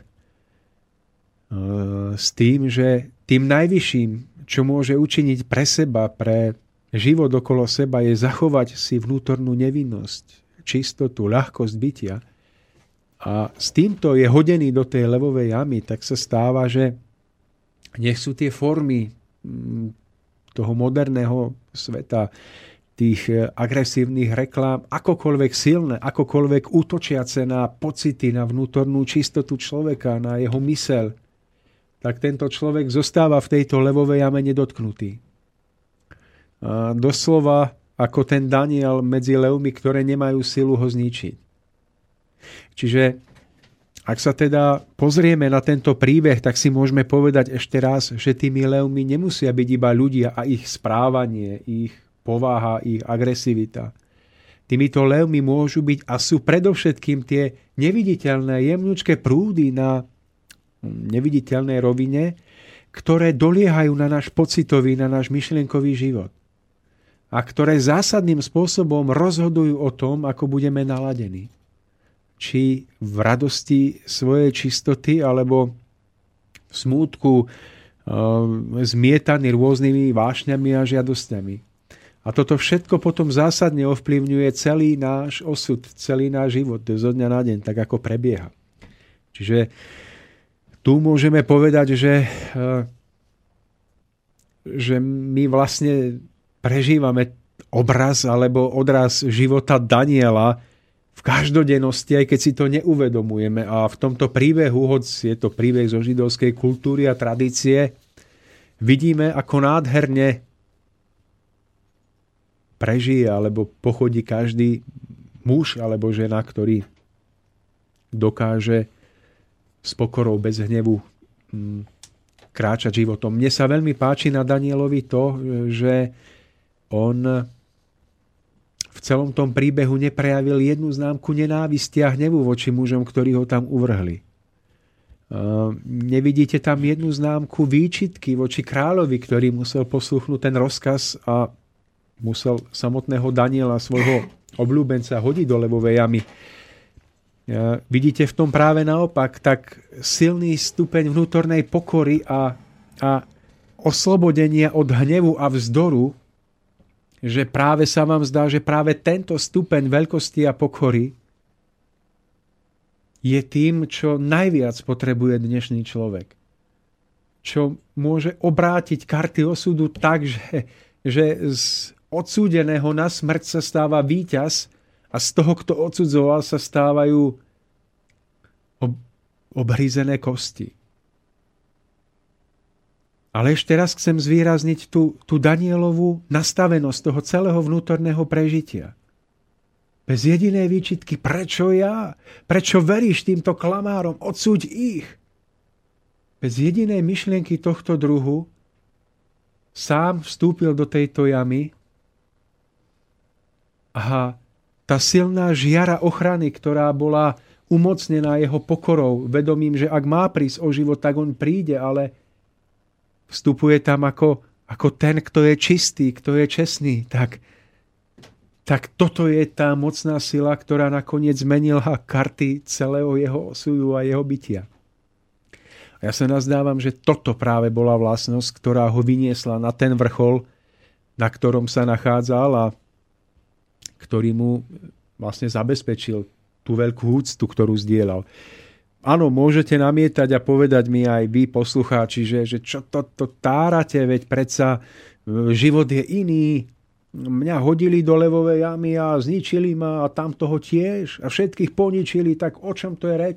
s tým, že tým najvyšším, čo môže učiniť pre seba, pre život okolo seba, je zachovať si vnútornú nevinnosť, čistotu, ľahkosť bytia. A s týmto je hodený do tej levovej jamy, tak sa stáva, že nech sú tie formy toho moderného sveta, tých agresívnych reklám, akokoľvek silné, akokoľvek útočiace na pocity, na vnútornú čistotu človeka, na jeho myseľ, tak tento človek zostáva v tejto levovej jame nedotknutý. A doslova ako ten Daniel medzi levmi, ktoré nemajú silu ho zničiť. Čiže ak sa teda pozrieme na tento príbeh, tak si môžeme povedať ešte raz, že tými levmi nemusia byť iba ľudia a ich správanie, ich povaha, ich agresivita. Týmito levmi môžu byť a sú predovšetkým tie neviditeľné, jemnúčké prúdy na neviditeľnej rovine, ktoré doliehajú na náš pocitový, na náš myšlienkový život. A ktoré zásadným spôsobom rozhodujú o tom, ako budeme naladení. Či v radosti svojej čistoty, alebo v smútku zmietaný rôznymi vášňami a žiadosťami. A toto všetko potom zásadne ovplyvňuje celý náš osud, celý náš život zo dňa na deň, tak ako prebieha. Čiže tu môžeme povedať, že, že my vlastne prežívame obraz alebo odraz života Daniela v každodennosti, aj keď si to neuvedomujeme. A v tomto príbehu, hoď je to príbeh zo židovskej kultúry a tradície, vidíme, ako nádherne prežije alebo pochodí každý muž alebo žena, ktorý dokáže s pokorou bez hnevu kráčať životom. Mne sa veľmi páči na Danielovi to, že on v celom tom príbehu neprejavil jednu známku nenávisti a hnevu voči mužom, ktorí ho tam uvrhli. Nevidíte tam jednu známku výčitky voči kráľovi, ktorý musel posluchnúť ten rozkaz a musel samotného Daniela, svojho obľúbenca, hodiť do levovej jamy. Vidíte v tom práve naopak tak silný stupeň vnútornej pokory a, a oslobodenia od hnevu a vzdoru, že práve sa vám zdá, že práve tento stupeň veľkosti a pokory je tým, čo najviac potrebuje dnešný človek. Čo môže obrátiť karty osudu tak, že, že z odsúdeného na smrť sa stáva víťaz a z toho, kto odsudzoval, sa stávajú ob- obhrízené kosti. Ale ešte raz chcem zvýrazniť tú, tú Danielovú nastavenosť toho celého vnútorného prežitia. Bez jedinej výčitky, prečo ja? Prečo veríš týmto klamárom? Odsúď ich. Bez jedinej myšlienky tohto druhu sám vstúpil do tejto jamy a tá silná žiara ochrany, ktorá bola umocnená jeho pokorou, vedomím, že ak má prísť o život, tak on príde, ale vstupuje tam ako, ako ten, kto je čistý, kto je čestný. Tak, tak toto je tá mocná sila, ktorá nakoniec zmenila karty celého jeho osudu a jeho bytia. A ja sa nazdávam, že toto práve bola vlastnosť, ktorá ho vyniesla na ten vrchol, na ktorom sa nachádzal a ktorý mu vlastne zabezpečil tú veľkú úctu, ktorú zdieľal. Áno, môžete namietať a povedať mi aj vy, poslucháči, že, že čo to, to tárate, veď predsa život je iný. Mňa hodili do levovej jamy a zničili ma a tam toho tiež a všetkých poničili, tak o čom to je reč?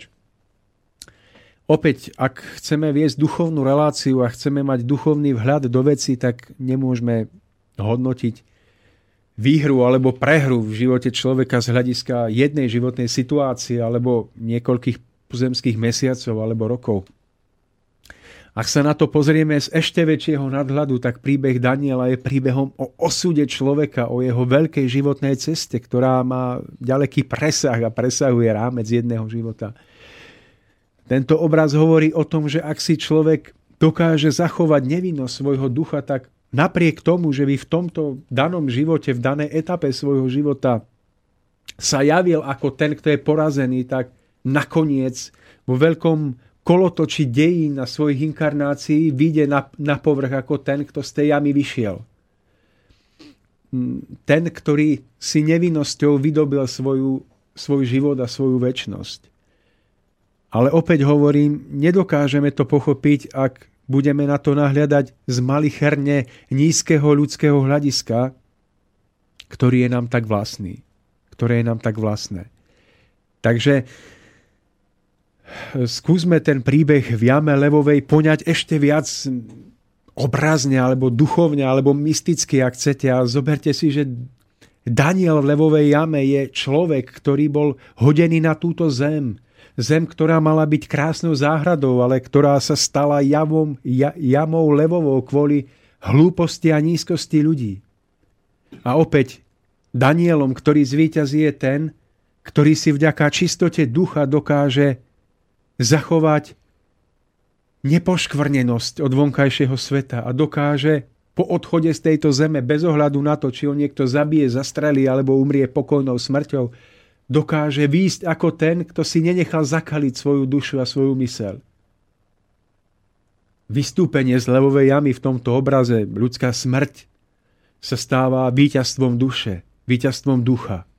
Opäť, ak chceme viesť duchovnú reláciu a chceme mať duchovný vhľad do veci, tak nemôžeme hodnotiť výhru alebo prehru v živote človeka z hľadiska jednej životnej situácie alebo niekoľkých pozemských mesiacov alebo rokov. Ak sa na to pozrieme z ešte väčšieho nadhľadu, tak príbeh Daniela je príbehom o osude človeka, o jeho veľkej životnej ceste, ktorá má ďaleký presah a presahuje rámec jedného života. Tento obraz hovorí o tom, že ak si človek dokáže zachovať nevinnosť svojho ducha, tak napriek tomu, že by v tomto danom živote, v danej etape svojho života sa javil ako ten, kto je porazený, tak nakoniec vo veľkom kolotoči dejín na svojich inkarnácií vyjde na, na povrch ako ten, kto z tej jamy vyšiel. Ten, ktorý si nevinnosťou vydobil svoju, svoj život a svoju večnosť. Ale opäť hovorím, nedokážeme to pochopiť, ak budeme na to nahliadať z malicherne nízkeho ľudského hľadiska, ktorý je nám tak vlastný. Ktoré je nám tak vlastné. Takže skúsme ten príbeh v jame levovej poňať ešte viac obrazne, alebo duchovne, alebo mysticky, ak chcete. A zoberte si, že Daniel v levovej jame je človek, ktorý bol hodený na túto zem. Zem, ktorá mala byť krásnou záhradou, ale ktorá sa stala javom, ja, jamou levovou kvôli hlúposti a nízkosti ľudí. A opäť Danielom, ktorý zvíťazí, je ten, ktorý si vďaka čistote ducha dokáže zachovať nepoškvrnenosť od vonkajšieho sveta a dokáže po odchode z tejto zeme, bez ohľadu na to, či ho niekto zabije, zastrelí alebo umrie pokojnou smrťou, dokáže výjsť ako ten, kto si nenechal zakaliť svoju dušu a svoju myseľ. Vystúpenie z levovej jamy v tomto obraze, ľudská smrť, sa stáva víťazstvom duše, víťazstvom ducha.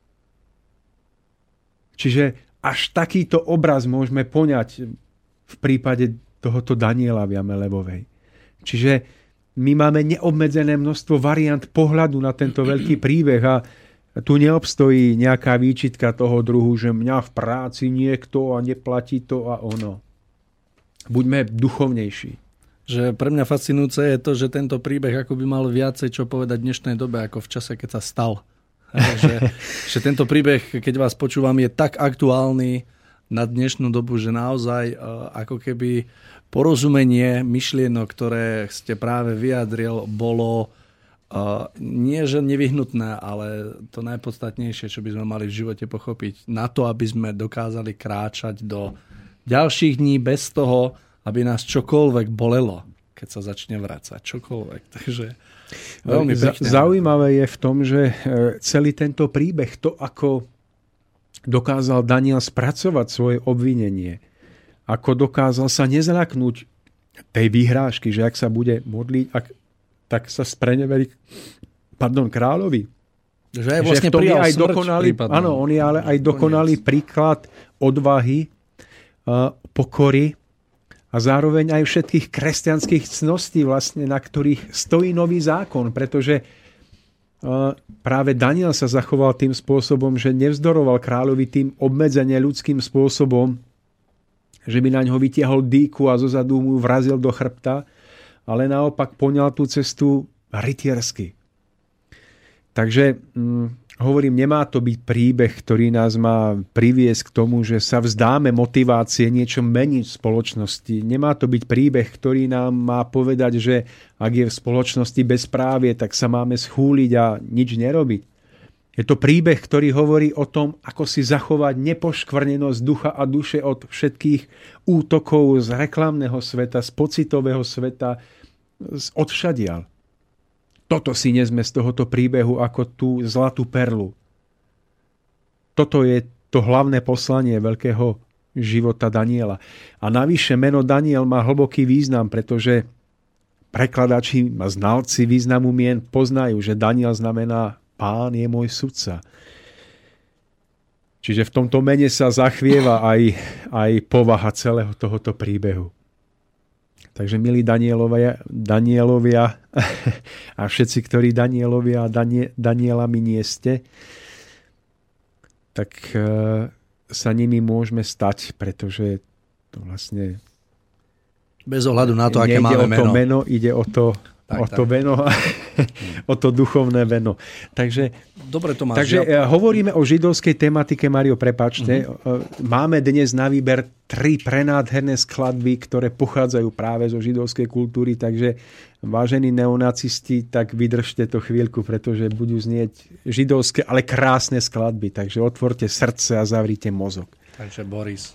Čiže až takýto obraz môžeme poňať v prípade tohoto Daniela v jame levovej. Čiže my máme neobmedzené množstvo variant pohľadu na tento veľký príbeh a tu neobstojí nejaká výčitka toho druhu, že mňa v práci niekto a neplatí to a ono. Buďme duchovnejší. že pre mňa fascinujúce je to, že tento príbeh ako by mal viacej čo povedať v dnešnej dobe, ako v čase, keď sa stal. že, že tento príbeh, keď vás počúvam, je tak aktuálny na dnešnú dobu, že naozaj ako keby porozumenie myšlienok, ktoré ste práve vyjadril, bolo nie že nevyhnutné, ale to najpodstatnejšie, čo by sme mali v živote pochopiť, na to, aby sme dokázali kráčať do ďalších dní bez toho, aby nás čokoľvek bolelo, keď sa začne vracať. Čokoľvek. Takže veľmi pekne. Zaujímavé je v tom, že celý tento príbeh, to ako dokázal Daniel spracovať svoje obvinenie, ako dokázal sa nezľaknúť tej výhrážky, že ak sa bude modliť, ak, tak sa spreneverí pardon, kráľovi. Že aj vlastne prijal aj smrť dokonalý, áno, on je ale aj dokonalý príklad odvahy, pokory a zároveň aj všetkých kresťanských cností, vlastne, na ktorých stojí nový zákon, pretože práve Daniel sa zachoval tým spôsobom, že nevzdoroval kráľovi tým obmedzenie ľudským spôsobom, že by na ňo vytiahol dýku a zozadu mu vrazil do chrbta, ale naopak poňal tú cestu rytiersky. Takže hm, hovorím, nemá to byť príbeh, ktorý nás má priviesť k tomu, že sa vzdáme motivácie niečo meniť v spoločnosti. Nemá to byť príbeh, ktorý nám má povedať, že ak je v spoločnosti bezprávie, tak sa máme schúliť a nič nerobiť. Je to príbeh, ktorý hovorí o tom, ako si zachovať nepoškvrnenosť ducha a duše od všetkých útokov z reklamného sveta, z pocitového sveta, z odvšadiaľ. Toto si nesme z tohoto príbehu ako tú zlatú perlu. Toto je to hlavné poslanie veľkého života Daniela. A navyše meno Daniel má hlboký význam, pretože prekladači a znalci významu mien poznajú, že Daniel znamená Pán je môj sudca. Čiže v tomto mene sa zachvieva aj, aj povaha celého tohoto príbehu. Takže milí Danielovia, Danielovia a všetci, ktorí Danielovia a Danie, Danielami nie ste, tak e, sa nimi môžeme stať, pretože to vlastne bez ohľadu na to, aké máme meno. meno. Ide o to Tak, o to tak. veno, o to duchovné veno. Takže, Dobre to máš, takže ja. hovoríme o židovskej tematike, Mario, prepáčte. Uh-huh. Máme dnes na výber tri prenádherné skladby, ktoré pochádzajú práve zo židovskej kultúry, takže vážení neonacisti, tak vydržte to chvíľku, pretože budú znieť židovské, ale krásne skladby. Takže otvorte srdce a zavrite mozog. Takže Boris.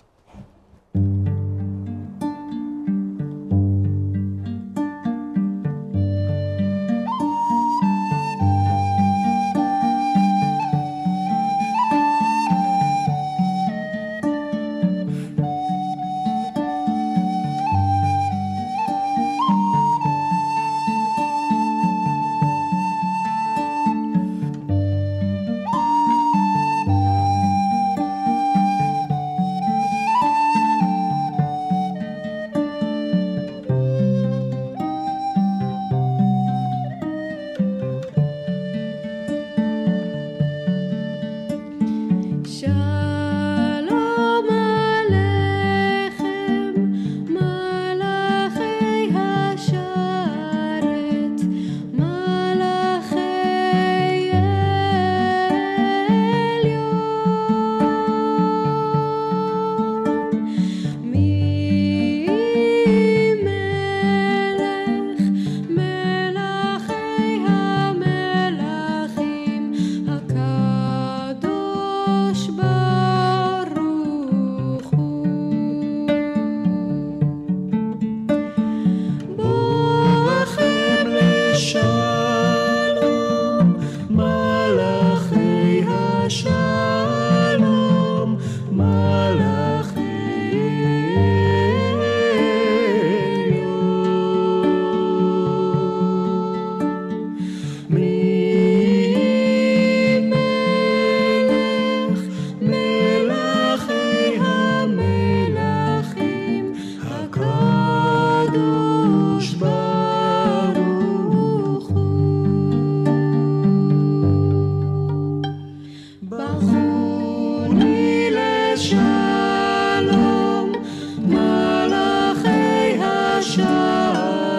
שלום, מלאכי השלום.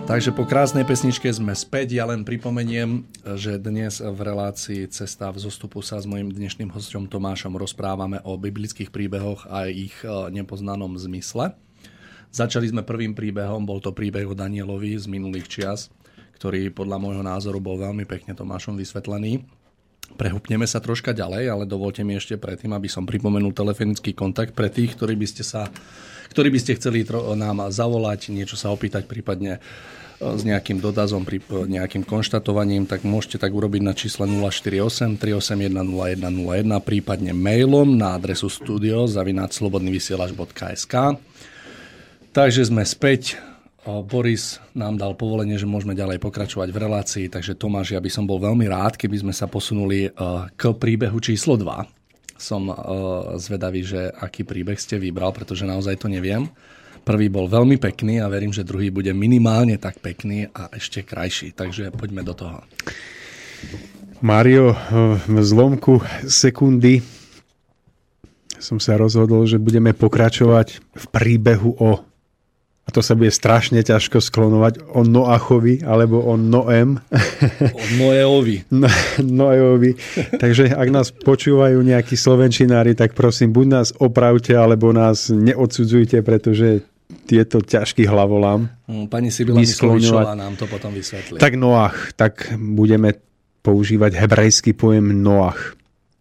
Takže po krásnej pesničke sme späť. Ja len pripomeniem, že dnes v relácii Cesta v zostupu sa s mojím dnešným hosťom Tomášom rozprávame o biblických príbehoch a ich nepoznanom zmysle. Začali sme prvým príbehom, bol to príbeh o Danielovi z minulých čias, ktorý podľa môjho názoru bol veľmi pekne Tomášom vysvetlený. Prehúpneme sa troška ďalej, ale dovolte mi ešte predtým, aby som pripomenul telefonický kontakt pre tých, ktorí by ste sa, ktorí by ste chceli nám zavolať, niečo sa opýtať, prípadne s nejakým dotazom, nejakým konštatovaním, tak môžete tak urobiť na čísle nula štyri osem tri osem jeden nula jeden nula jeden, prípadne mailom na adresu studio zavináč slobodnyvysielac bodka es ká. Takže sme späť. Boris nám dal povolenie, že môžeme ďalej pokračovať v relácii, takže Tomáš, ja by som bol veľmi rád, keby sme sa posunuli k príbehu číslo dva. Som zvedavý, že aký príbeh ste vybral, pretože naozaj to neviem. Prvý bol veľmi pekný a verím, že druhý bude minimálne tak pekný a ešte krajší. Takže poďme do toho. Mário, v zlomku sekundy som sa rozhodol, že budeme pokračovať v príbehu o, a to sa bude strašne ťažko sklonovať, o Noachovi alebo o Noem. O Noeovi. No, Noeovi. Takže ak nás počúvajú nejakí slovenčinári, tak prosím, buď nás opravte, alebo nás neodsudzujte, pretože tieto ťažký hlavolám. Pani Sibila Myslovičová nám to potom vysvetlí. Tak Noach, tak budeme používať hebrejský pojem Noach.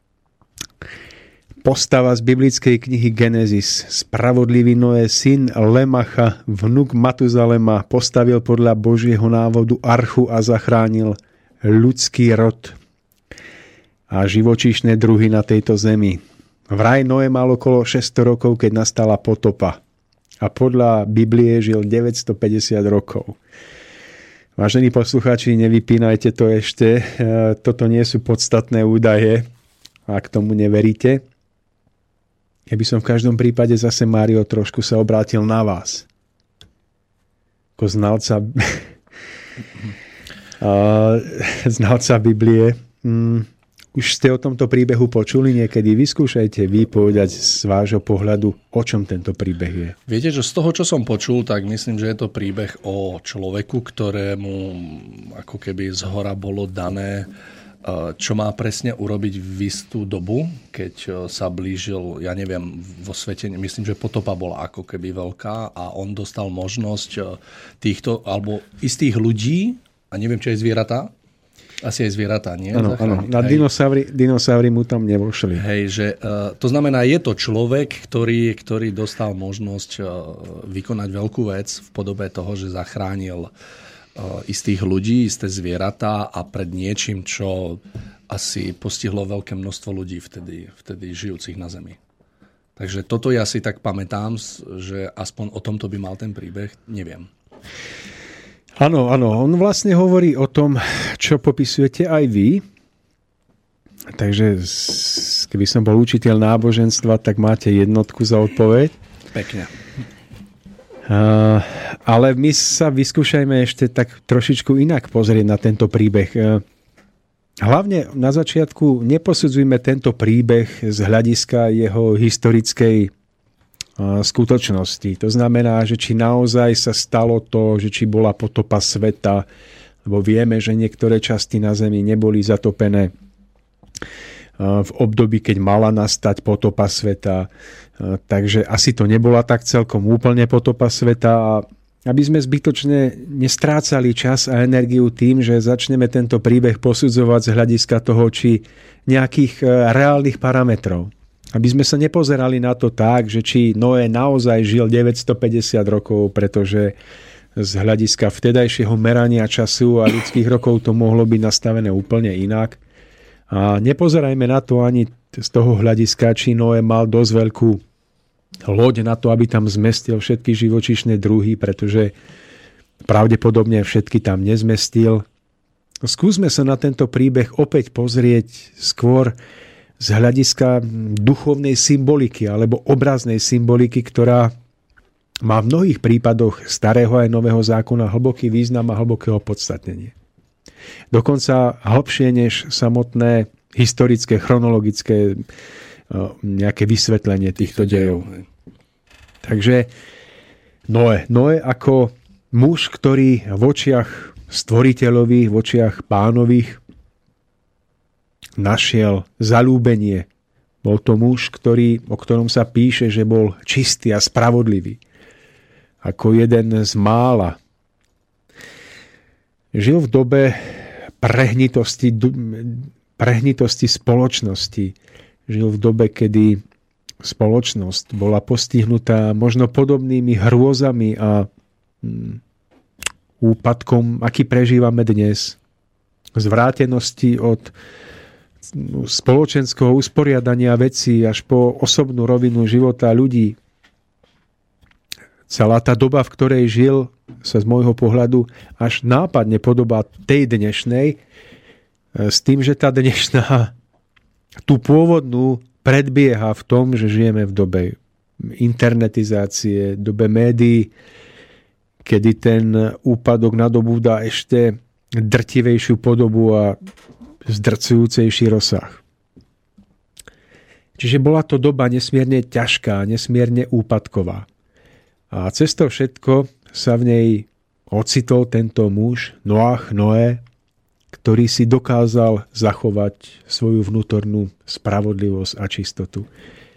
Postava z biblickej knihy Genesis. Spravodlivý Noé, syn Lemacha, vnuk Matuzalema, postavil podľa Božieho návodu archu a zachránil ľudský rod a živočíšne druhy na tejto zemi. Vraj Noé mal okolo šesťsto rokov, keď nastala potopa. A podľa Biblie žil deväťstopäťdesiat rokov. Vážení poslucháči, nevypínajte to ešte. Toto nie sú podstatné údaje, ak tomu neveríte. Ja by som v každom prípade zase, Mário, trošku sa obrátil na vás. Ako znalca, znalca Biblie. Už ste o tomto príbehu počuli niekedy? Vyskúšajte vy povedať z vášho pohľadu, o čom tento príbeh je. Viete, že z toho, čo som počul, tak myslím, že je to príbeh o človeku, ktorému ako keby zhora bolo dané, čo má presne urobiť v istú dobu, keď sa blížil, ja neviem, vo svete, myslím, že potopa bola ako keby veľká a on dostal možnosť týchto, alebo istých ľudí, a neviem, či aj zvieratá, asi aj zvieratá, nie? Áno, áno. Na dinosaury, dinosaury mu tam nevošli. Hej, že uh, to znamená, je to človek, ktorý, ktorý dostal možnosť uh, vykonať veľkú vec v podobe toho, že zachránil uh, istých ľudí, isté zvieratá a pred niečím, čo asi postihlo veľké množstvo ľudí vtedy, vtedy žijúcich na Zemi. Takže toto ja si tak pamätám, že aspoň o tomto by mal ten príbeh, neviem. Áno, áno, on vlastne hovorí o tom, čo popisujete aj vy. Takže keby som bol učiteľ náboženstva, tak máte jednotku za odpoveď. Pekne. Uh, ale my sa vyskúšajme ešte tak trošičku inak pozrieť na tento príbeh. Uh, hlavne na začiatku neposudzujme tento príbeh z hľadiska jeho historickej skutočnosti. To znamená, že či naozaj sa stalo to, že či bola potopa sveta, lebo vieme, že niektoré časti na Zemi neboli zatopené v období, keď mala nastať potopa sveta. Takže asi to nebola tak celkom úplne potopa sveta a aby sme zbytočne nestrácali čas a energiu tým, že začneme tento príbeh posudzovať z hľadiska toho, či nejakých reálnych parametrov. Aby sme sa nepozerali na to tak, že či Noé naozaj žil deväťstopäťdesiat rokov, pretože z hľadiska vtedajšieho merania času a ľudských rokov to mohlo byť nastavené úplne inak. A nepozerajme na to ani z toho hľadiska, či Noé mal dosť veľkú loď na to, aby tam zmestil všetky živočíšne druhy, pretože pravdepodobne všetky tam nezmestil. Skúsme sa na tento príbeh opäť pozrieť skôr z hľadiska duchovnej symboliky alebo obraznej symboliky, ktorá má v mnohých prípadoch starého aj nového zákona hlboký význam a hlboké opodstatnenie. Dokonca hlbšie než samotné historické, chronologické nejaké vysvetlenie týchto dejov. Takže Noé. Noé ako muž, ktorý v očiach stvoriteľových, v očiach pánových našiel zaľúbenie. Bol to muž, ktorý, o ktorom sa píše, že bol čistý a spravodlivý. Ako jeden z mála. Žil v dobe prehnitosti, prehnitosti spoločnosti. Žil v dobe, kedy spoločnosť bola postihnutá možno podobnými hrôzami a úpadkom, aký prežívame dnes. Zvrátenosti od spoločenského usporiadania vecí až po osobnú rovinu života ľudí. Celá tá doba, v ktorej žil, sa z môjho pohľadu až nápadne podobá tej dnešnej, s tým, že tá dnešná tú pôvodnú predbieha v tom, že žijeme v dobe internetizácie, dobe médií, kedy ten úpadok nadobúda ešte drtivejšiu podobu a zdrcujúcejší rozsah. Čiže bola to doba nesmierne ťažká, nesmierne úpadková. A cez to všetko sa v nej ocitol tento muž, Noach, Noé, ktorý si dokázal zachovať svoju vnútornú spravodlivosť a čistotu.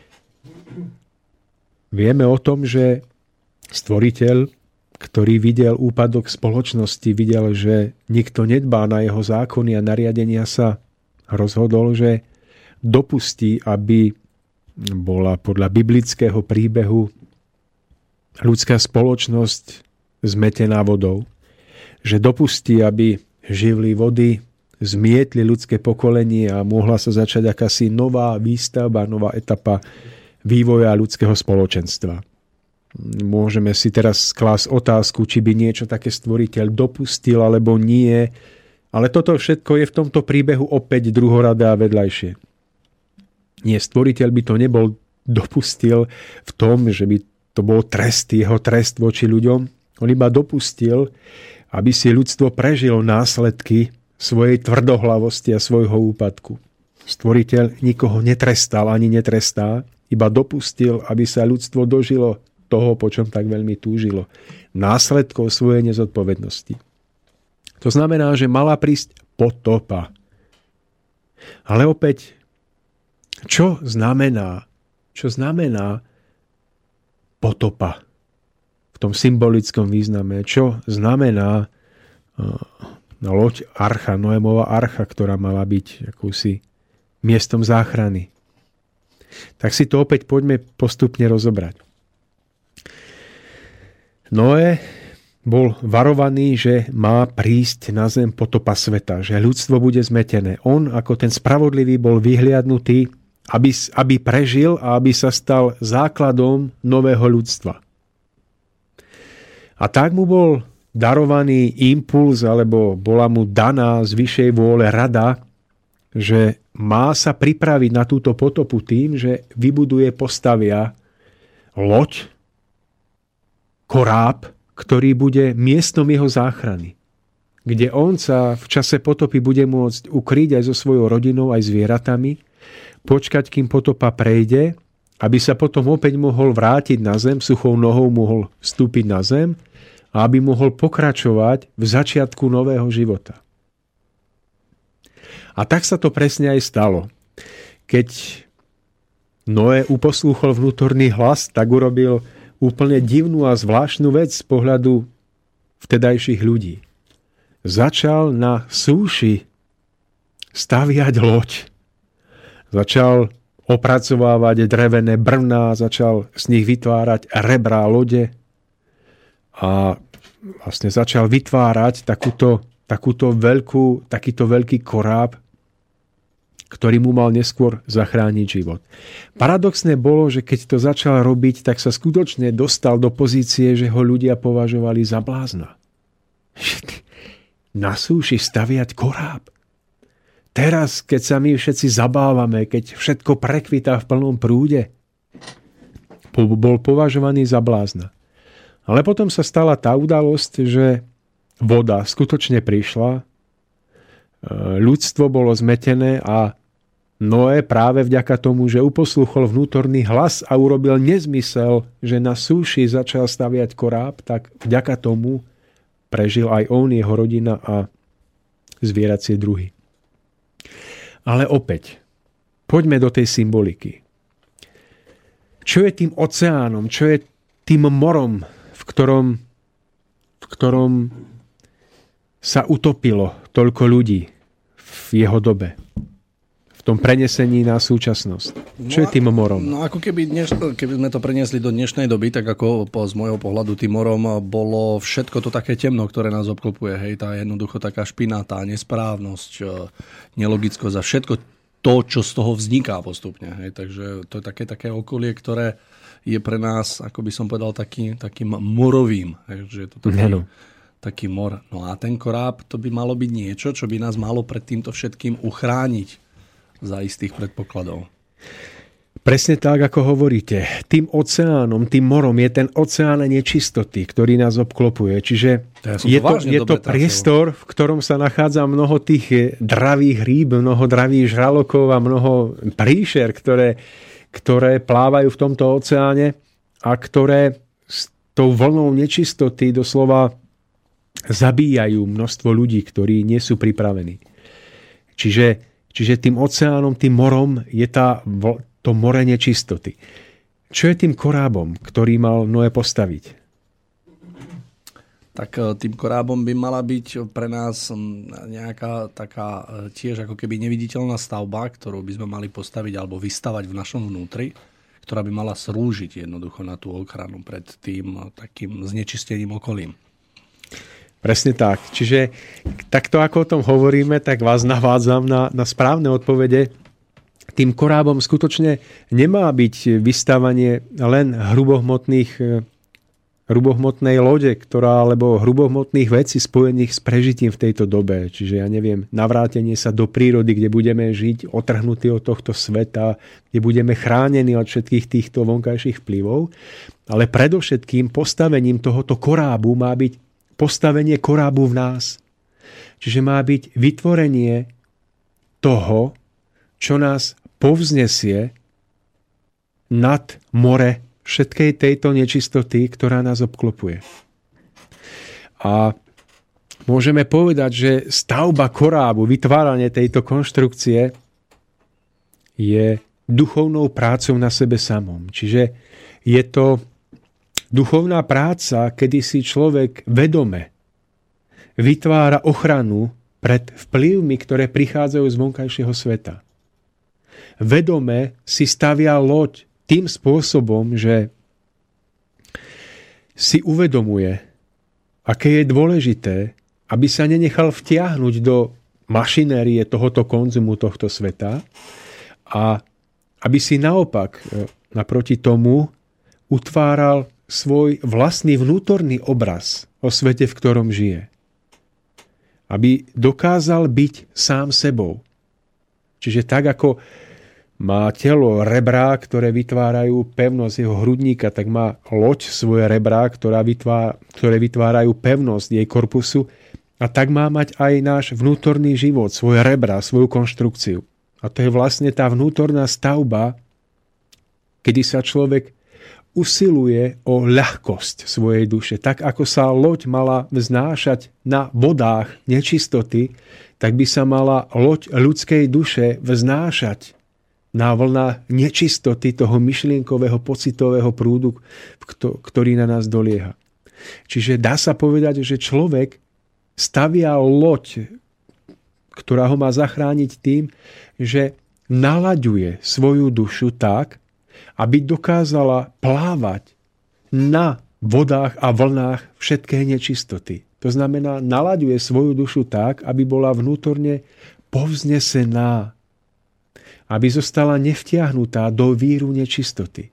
Vieme o tom, že stvoriteľ, ktorý videl úpadok spoločnosti, videl, že nikto nedbá na jeho zákony a nariadenia, sa rozhodol, že dopustí, aby bola podľa biblického príbehu ľudská spoločnosť zmetená vodou. Že dopustí, aby živly vody zmietli ľudské pokolenie a mohla sa začať akási nová výstavba, nová etapa vývoja ľudského spoločenstva. Môžeme si teraz klásť otázku, či by niečo také stvoriteľ dopustil, alebo nie. Ale toto všetko je v tomto príbehu opäť druhoradé a vedľajšie. Nie, stvoriteľ by to nebol dopustil v tom, že by to bol trest, jeho trest voči ľuďom. On iba dopustil, aby si ľudstvo prežilo následky svojej tvrdohlavosti a svojho úpadku. Stvoriteľ nikoho netrestal ani netrestá, iba dopustil, aby sa ľudstvo dožilo toho, po čom tak veľmi túžilo. Následkov svojej nezodpovednosti. To znamená, že mala prísť potopa. Ale opäť, čo znamená, čo znamená potopa v tom symbolickom význame? Čo znamená uh, loď archa, Noémova archa, ktorá mala byť akúsi miestom záchrany? Tak si to opäť poďme postupne rozobrať. Noé bol varovaný, že má prísť na zem potopa sveta, že ľudstvo bude zmetené. On, ako ten spravodlivý, bol vyhliadnutý, aby, aby prežil a aby sa stal základom nového ľudstva. A tak mu bol darovaný impuls, alebo bola mu daná z vyššej vôle rada, že má sa pripraviť na túto potopu tým, že vybuduje, postavia loď, koráb, ktorý bude miestom jeho záchrany. Kde on sa v čase potopy bude môcť ukryť aj so svojou rodinou, aj zvieratami, počkať, kým potopa prejde, aby sa potom opäť mohol vrátiť na zem, suchou nohou mohol vstúpiť na zem a aby mohol pokračovať v začiatku nového života. A tak sa to presne aj stalo. Keď Noé uposlúchol vnútorný hlas, tak urobil úplne divnú a zvláštnu vec z pohľadu vtedajších ľudí. Začal na súši staviať loď. Začal opracovávať drevené brvná, začal z nich vytvárať rebrá lode a vlastne začal vytvárať takúto, takúto veľkú, takýto veľký koráb, ktorý mu mal neskôr zachrániť život. Paradoxné bolo, že keď to začal robiť, tak sa skutočne dostal do pozície, že ho ľudia považovali za blázna. Na súši staviať koráb. Teraz, keď sa my všetci zabávame, keď všetko prekvitá v plnom prúde, bol považovaný za blázna. Ale potom sa stala tá udalosť, že voda skutočne prišla, ľudstvo bolo zmetené a Noé práve vďaka tomu, že uposlúchol vnútorný hlas a urobil nezmysel, že na súši začal staviať koráb, tak vďaka tomu prežil aj on, jeho rodina a zvieracie druhy. Ale opäť, poďme do tej symboliky. Čo je tým oceánom? Čo je tým morom, v ktorom, v ktorom sa utopilo toľko ľudí v jeho dobe? V tom prenesení na súčasnosť. Čo no, je tým morom? No ako keby, dneš, keby sme to preniesli do dnešnej doby, tak ako po, z môjho pohľadu tým morom bolo všetko to také temno, ktoré nás obklopuje. Hej, tá jednoducho taká špinatá nesprávnosť, nelogickosť a všetko to, čo z toho vzniká postupne. Hej, takže to je také, také okolie, ktoré je pre nás, ako by som povedal, taký, takým morovým. Hej, že je to taký, no. taký mor. No a ten koráb, to by malo byť niečo, čo by nás malo pred týmto všetkým uchrániť za istých predpokladov. Presne tak, ako hovoríte. Tým oceánom, tým morom je ten oceán nečistoty, ktorý nás obklopuje. Čiže ja je to, je to priestor, v ktorom sa nachádza mnoho tých dravých rýb, mnoho dravých žralokov a mnoho príšer, ktoré, ktoré plávajú v tomto oceáne a ktoré s tou vlnou nečistoty doslova zabíjajú množstvo ľudí, ktorí nie sú pripravení. Čiže Čiže tým oceánom, tým morom je tá, to more nečistoty. Čo je tým korábom, ktorý mal Noé postaviť? Tak tým korábom by mala byť pre nás nejaká taká tiež ako keby neviditeľná stavba, ktorú by sme mali postaviť alebo vystavať v našom vnútri, ktorá by mala slúžiť jednoducho na tú ochranu pred tým takým znečistením okolím. Presne tak. Čiže takto, ako o tom hovoríme, tak vás navádzam na, na správne odpovede. Tým korábom skutočne nemá byť vystavanie len hrubohmotných, hrubohmotnej lode, ktorá, alebo hrubohmotných vecí spojených s prežitím v tejto dobe. Čiže ja neviem, navrátenie sa do prírody, kde budeme žiť otrhnutí od tohto sveta, kde budeme chránení od všetkých týchto vonkajších vplyvov. Ale predovšetkým postavením tohoto korábu má byť postavenie korábu v nás. Čiže má byť vytvorenie toho, čo nás povznesie nad more všetkej tejto nečistoty, ktorá nás obklopuje. A môžeme povedať, že stavba korábu, vytváranie tejto konštrukcie je duchovnou prácou na sebe samom. Čiže je to duchovná práca, kedy si človek vedome vytvára ochranu pred vplyvmi, ktoré prichádzajú z vonkajšieho sveta. Vedome si stavia loď tým spôsobom, že si uvedomuje, aké je dôležité, aby sa nenechal vtiahnuť do mašinérie tohoto konzumu tohto sveta a aby si naopak naproti tomu utváral svoj vlastný vnútorný obraz o svete, v ktorom žije. Aby dokázal byť sám sebou. Čiže tak, ako má telo rebrá, ktoré vytvárajú pevnosť jeho hrudníka, tak má loď svoje rebrá, ktorá vytvára, ktoré vytvárajú pevnosť jej korpusu. A tak má mať aj náš vnútorný život, svoje rebrá, svoju konštrukciu. A to je vlastne tá vnútorná stavba, kedy sa človek usiluje o ľahkosť svojej duše. Tak ako sa loď mala vznášať na vodách nečistoty, tak by sa mala loď ľudskej duše vznášať na vlnách nečistoty toho myšlienkového, pocitového prúdu, ktorý na nás dolieha. Čiže dá sa povedať, že človek stavia loď, ktorá ho má zachrániť tým, že nalaďuje svoju dušu tak, aby dokázala plávať na vodách a vlnách všetkej nečistoty. To znamená, nalaďuje svoju dušu tak, aby bola vnútorne povznesená, aby zostala nevtiahnutá do víru nečistoty.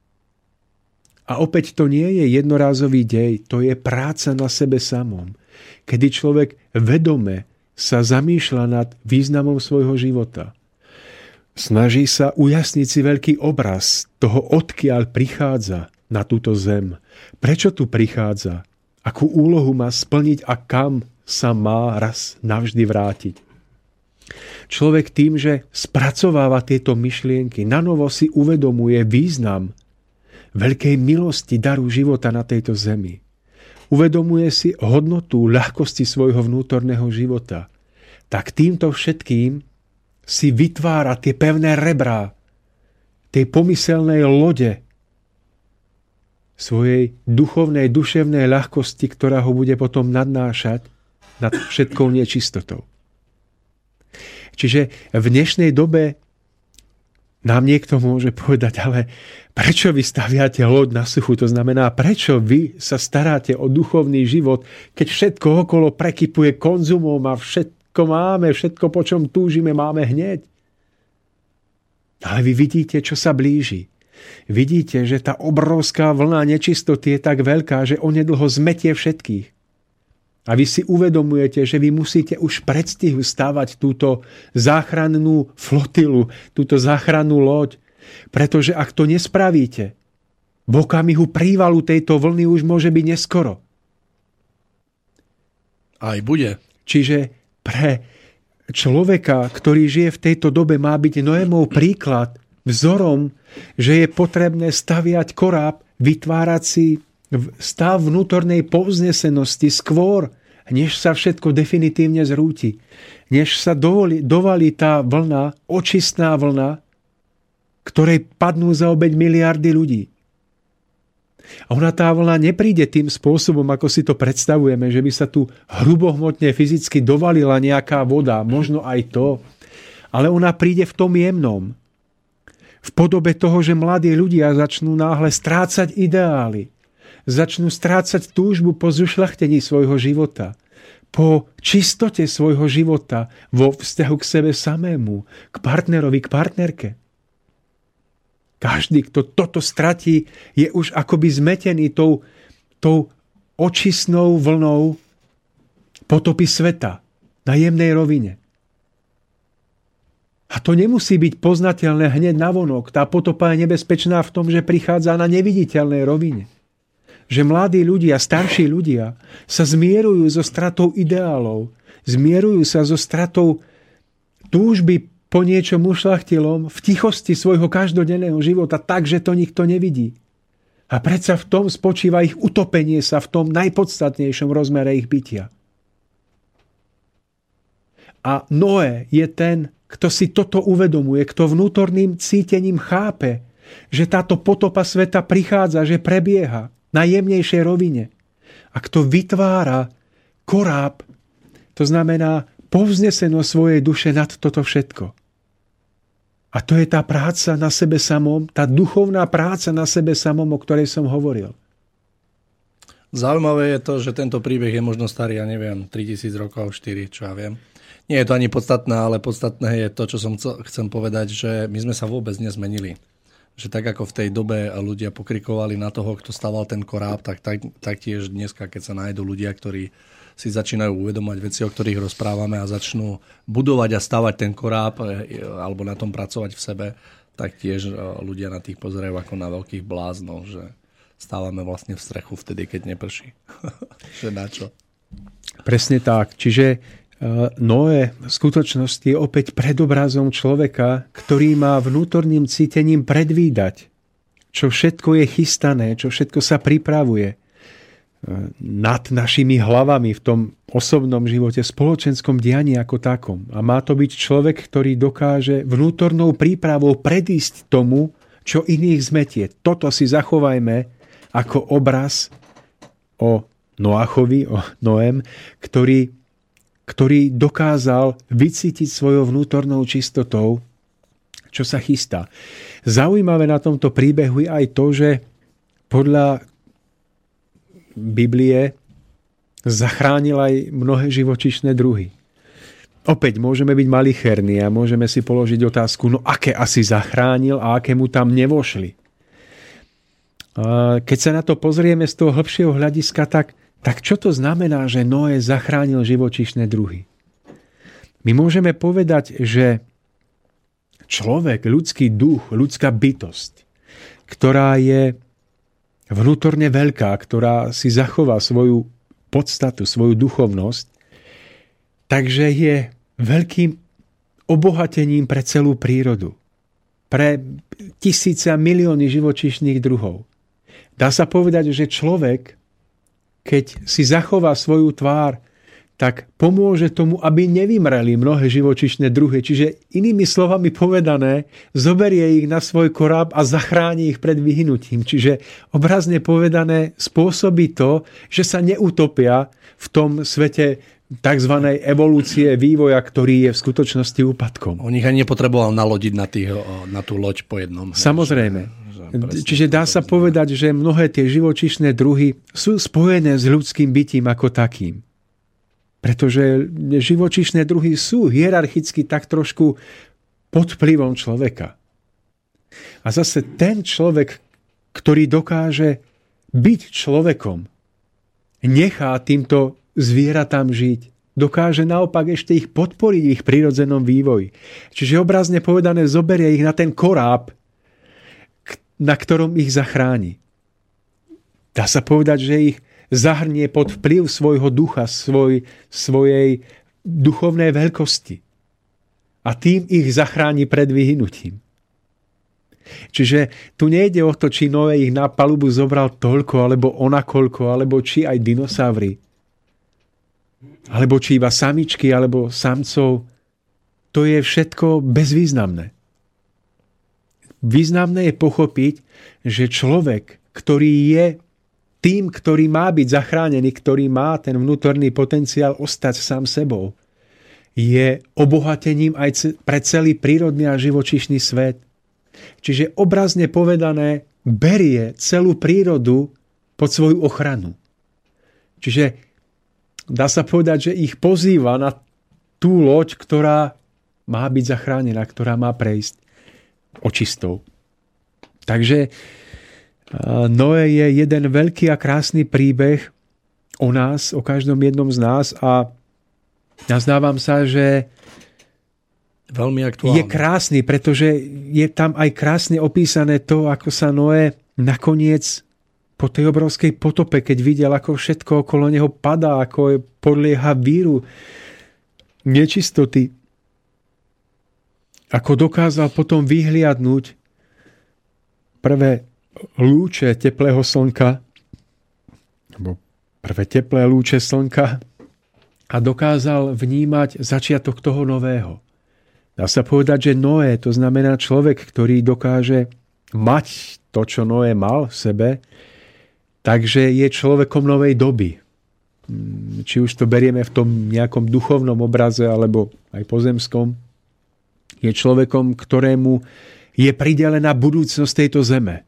A opäť to nie je jednorázový dej, to je práca na sebe samom, kedy človek vedome sa zamýšľa nad významom svojho života. Snaží sa ujasniť si veľký obraz toho, odkiaľ prichádza na túto zem. Prečo tu prichádza? Akú úlohu má splniť a kam sa má raz navždy vrátiť? Človek tým, že spracováva tieto myšlienky, nanovo si uvedomuje význam veľkej milosti daru života na tejto zemi. uvedomuje si hodnotu ľahkosti svojho vnútorného života, tak týmto všetkým si vytvára tie pevné rebrá tej pomyselnej lode svojej duchovnej, duševnej ľahkosti, ktorá ho bude potom nadnášať nad všetkou nečistotou. Čiže v dnešnej dobe nám niekto môže povedať, ale prečo vy staviate loď na suchu? To znamená, prečo vy sa staráte o duchovný život, keď všetko okolo prekypuje konzumom a všetko máme, všetko, po čom túžime, máme hneď. Ale vy vidíte, čo sa blíži. Vidíte, že tá obrovská vlna nečistoty je tak veľká, že onedlho zmetie všetkých. A vy si uvedomujete, že vy musíte už predstihu stavať túto záchrannú flotilu, túto záchrannú loď. Pretože ak to nespravíte, v okamihu prívalu tejto vlny už môže byť neskoro. Aj bude. Čiže pre človeka, ktorý žije v tejto dobe, má byť Noémov príklad, vzorom, že je potrebné staviať koráb, vytvárať si stav vnútornej povznesenosti skôr, než sa všetko definitívne zrúti. Než sa dovolí, dovalí tá vlna, očistná vlna, ktorej padnú za obeť miliardy ľudí. A ona tá vlna nepríde tým spôsobom, ako si to predstavujeme, že by sa tu hrubohmotne fyzicky dovalila nejaká voda, možno aj to, ale ona príde v tom jemnom. V podobe toho, že mladí ľudia začnú náhle strácať ideály, začnú strácať túžbu po zušľachtení svojho života, po čistote svojho života vo vzťahu k sebe samému, k partnerovi, k partnerke. Každý, kto toto stratí, je už akoby zmetený tou, tou očistnou vlnou potopy sveta na jemnej rovine. A to nemusí byť poznateľné hneď navonok. Tá potopa je nebezpečná v tom, že prichádza na neviditeľnej rovine. Že mladí ľudia, starší ľudia sa zmierujú so stratou ideálov, zmierujú sa so stratou túžby po niečom ušľachtilom v tichosti svojho každodenného života tak, že to nikto nevidí. A predsa v tom spočíva ich utopenie sa v tom najpodstatnejšom rozmere ich bytia. A Noé je ten, kto si toto uvedomuje, kto vnútorným cítením chápe, že táto potopa sveta prichádza, že prebieha na jemnejšej rovine. A kto vytvára koráb, to znamená povznesenosť svojej duše nad toto všetko. A to je tá práca na sebe samom, tá duchovná práca na sebe samom, o ktorej som hovoril. Zaujímavé je to, že tento príbeh je možno starý, ja neviem, tritisíc rokov, štyri, čo ja viem. Nie je to ani podstatné, ale podstatné je to, čo som chcem povedať, že my sme sa vôbec nezmenili. Že tak ako v tej dobe ľudia pokrikovali na toho, kto staval ten koráb, tak, tak taktiež dneska, keď sa nájdú ľudia, ktorí si začínajú uvedomať veci, o ktorých rozprávame a začnú budovať a stavať ten koráb alebo na tom pracovať v sebe, tak tiež ľudia na tých pozerajú ako na veľkých bláznov, že stávame vlastne v strechu vtedy, keď neprší. Že na čo? Presne tak. Čiže Noé v skutočnosti je opäť predobrazom človeka, ktorý má vnútorným cítením predvídať, čo všetko je chystané, čo všetko sa pripravuje nad našimi hlavami v tom osobnom živote, spoločenskom dianí ako takom. A má to byť človek, ktorý dokáže vnútornou prípravou predísť tomu, čo iných zmetie. Toto si zachovajme ako obraz o Noachovi, o Noém, ktorý ktorý dokázal vycítiť svojou vnútornou čistotou, čo sa chystá. Zaujímavé na tomto príbehu je aj to, že podľa Biblie zachránil aj mnohé živočíšne druhy. Opäť môžeme byť malicherní a môžeme si položiť otázku, no aké asi zachránil a aké mu tam nevošli. Keď sa na to pozrieme z toho hĺbšieho hľadiska, tak Tak čo to znamená, že Noé zachránil živočíšne druhy? My môžeme povedať, že človek, ľudský duch, ľudská bytosť, ktorá je vnútorne veľká, ktorá si zachová svoju podstatu, svoju duchovnosť, takže je veľkým obohatením pre celú prírodu. Pre tisíce a milióny živočíšnych druhov. Dá sa povedať, že človek keď si zachová svoju tvár, tak pomôže tomu, aby nevymreli mnohé živočíšne druhy. Čiže inými slovami povedané, zoberie ich na svoj koráb a zachráni ich pred vyhnutím. Čiže obrazne povedané spôsobí to, že sa neutopia v tom svete tzv. Evolúcie, vývoja, ktorý je v skutočnosti úpadkom. On ich ani nepotreboval nalodiť na, tých, na tú loď po jednom. Samozrejme. Že, Čiže dá sa povedať, že mnohé tie živočíšne druhy sú spojené s ľudským bytím ako takým. Pretože živočíšne druhy sú hierarchicky tak trošku pod vplyvom človeka. A zase ten človek, ktorý dokáže byť človekom, nechá týmto zvieratám žiť. Dokáže naopak ešte ich podporiť v ich prirodzenom vývoji. Čiže obrazne povedané zoberie ich na ten koráb, na ktorom ich zachráni. Dá sa povedať, že ich zahrnie pod vplyv svojho ducha, svoj, svojej duchovnej veľkosti. A tým ich zachráni pred vyhnutím. Čiže tu nejde o to, či Noé ich na palubu zobral toľko, alebo onakoľko, alebo či aj dinosaury, alebo či iba samičky, alebo samcov. To je všetko bezvýznamné. Významné je pochopiť, že človek, ktorý je tým, ktorý má byť zachránený, ktorý má ten vnútorný potenciál ostať sám sebou, je obohatením aj pre celý prírodný a živočíšny svet. Čiže obrazne povedané, berie celú prírodu pod svoju ochranu. Čiže dá sa povedať, že ich pozýva na tú loď, ktorá má byť zachránená, ktorá má prejsť očistou. Takže Noé je jeden veľký a krásny príbeh o nás, o každom jednom z nás a nazdávam sa, že veľmi aktuálne. Je krásny, pretože je tam aj krásne opísané to, ako sa Noé nakoniec po tej obrovskej potope, keď videl, ako všetko okolo neho padá, ako podlieha víru, nečistoty, ako dokázal potom vyhliadnúť prvé lúče teplého slnka, alebo prvé teplé lúče slnka a dokázal vnímať začiatok toho nového. Dá sa povedať, že Noé, to znamená človek, ktorý dokáže mať to, čo Noé mal v sebe, takže je človekom novej doby. Či už to berieme v tom nejakom duchovnom obraze, alebo aj pozemskom, je človekom, ktorému je pridelená budúcnosť tejto zeme.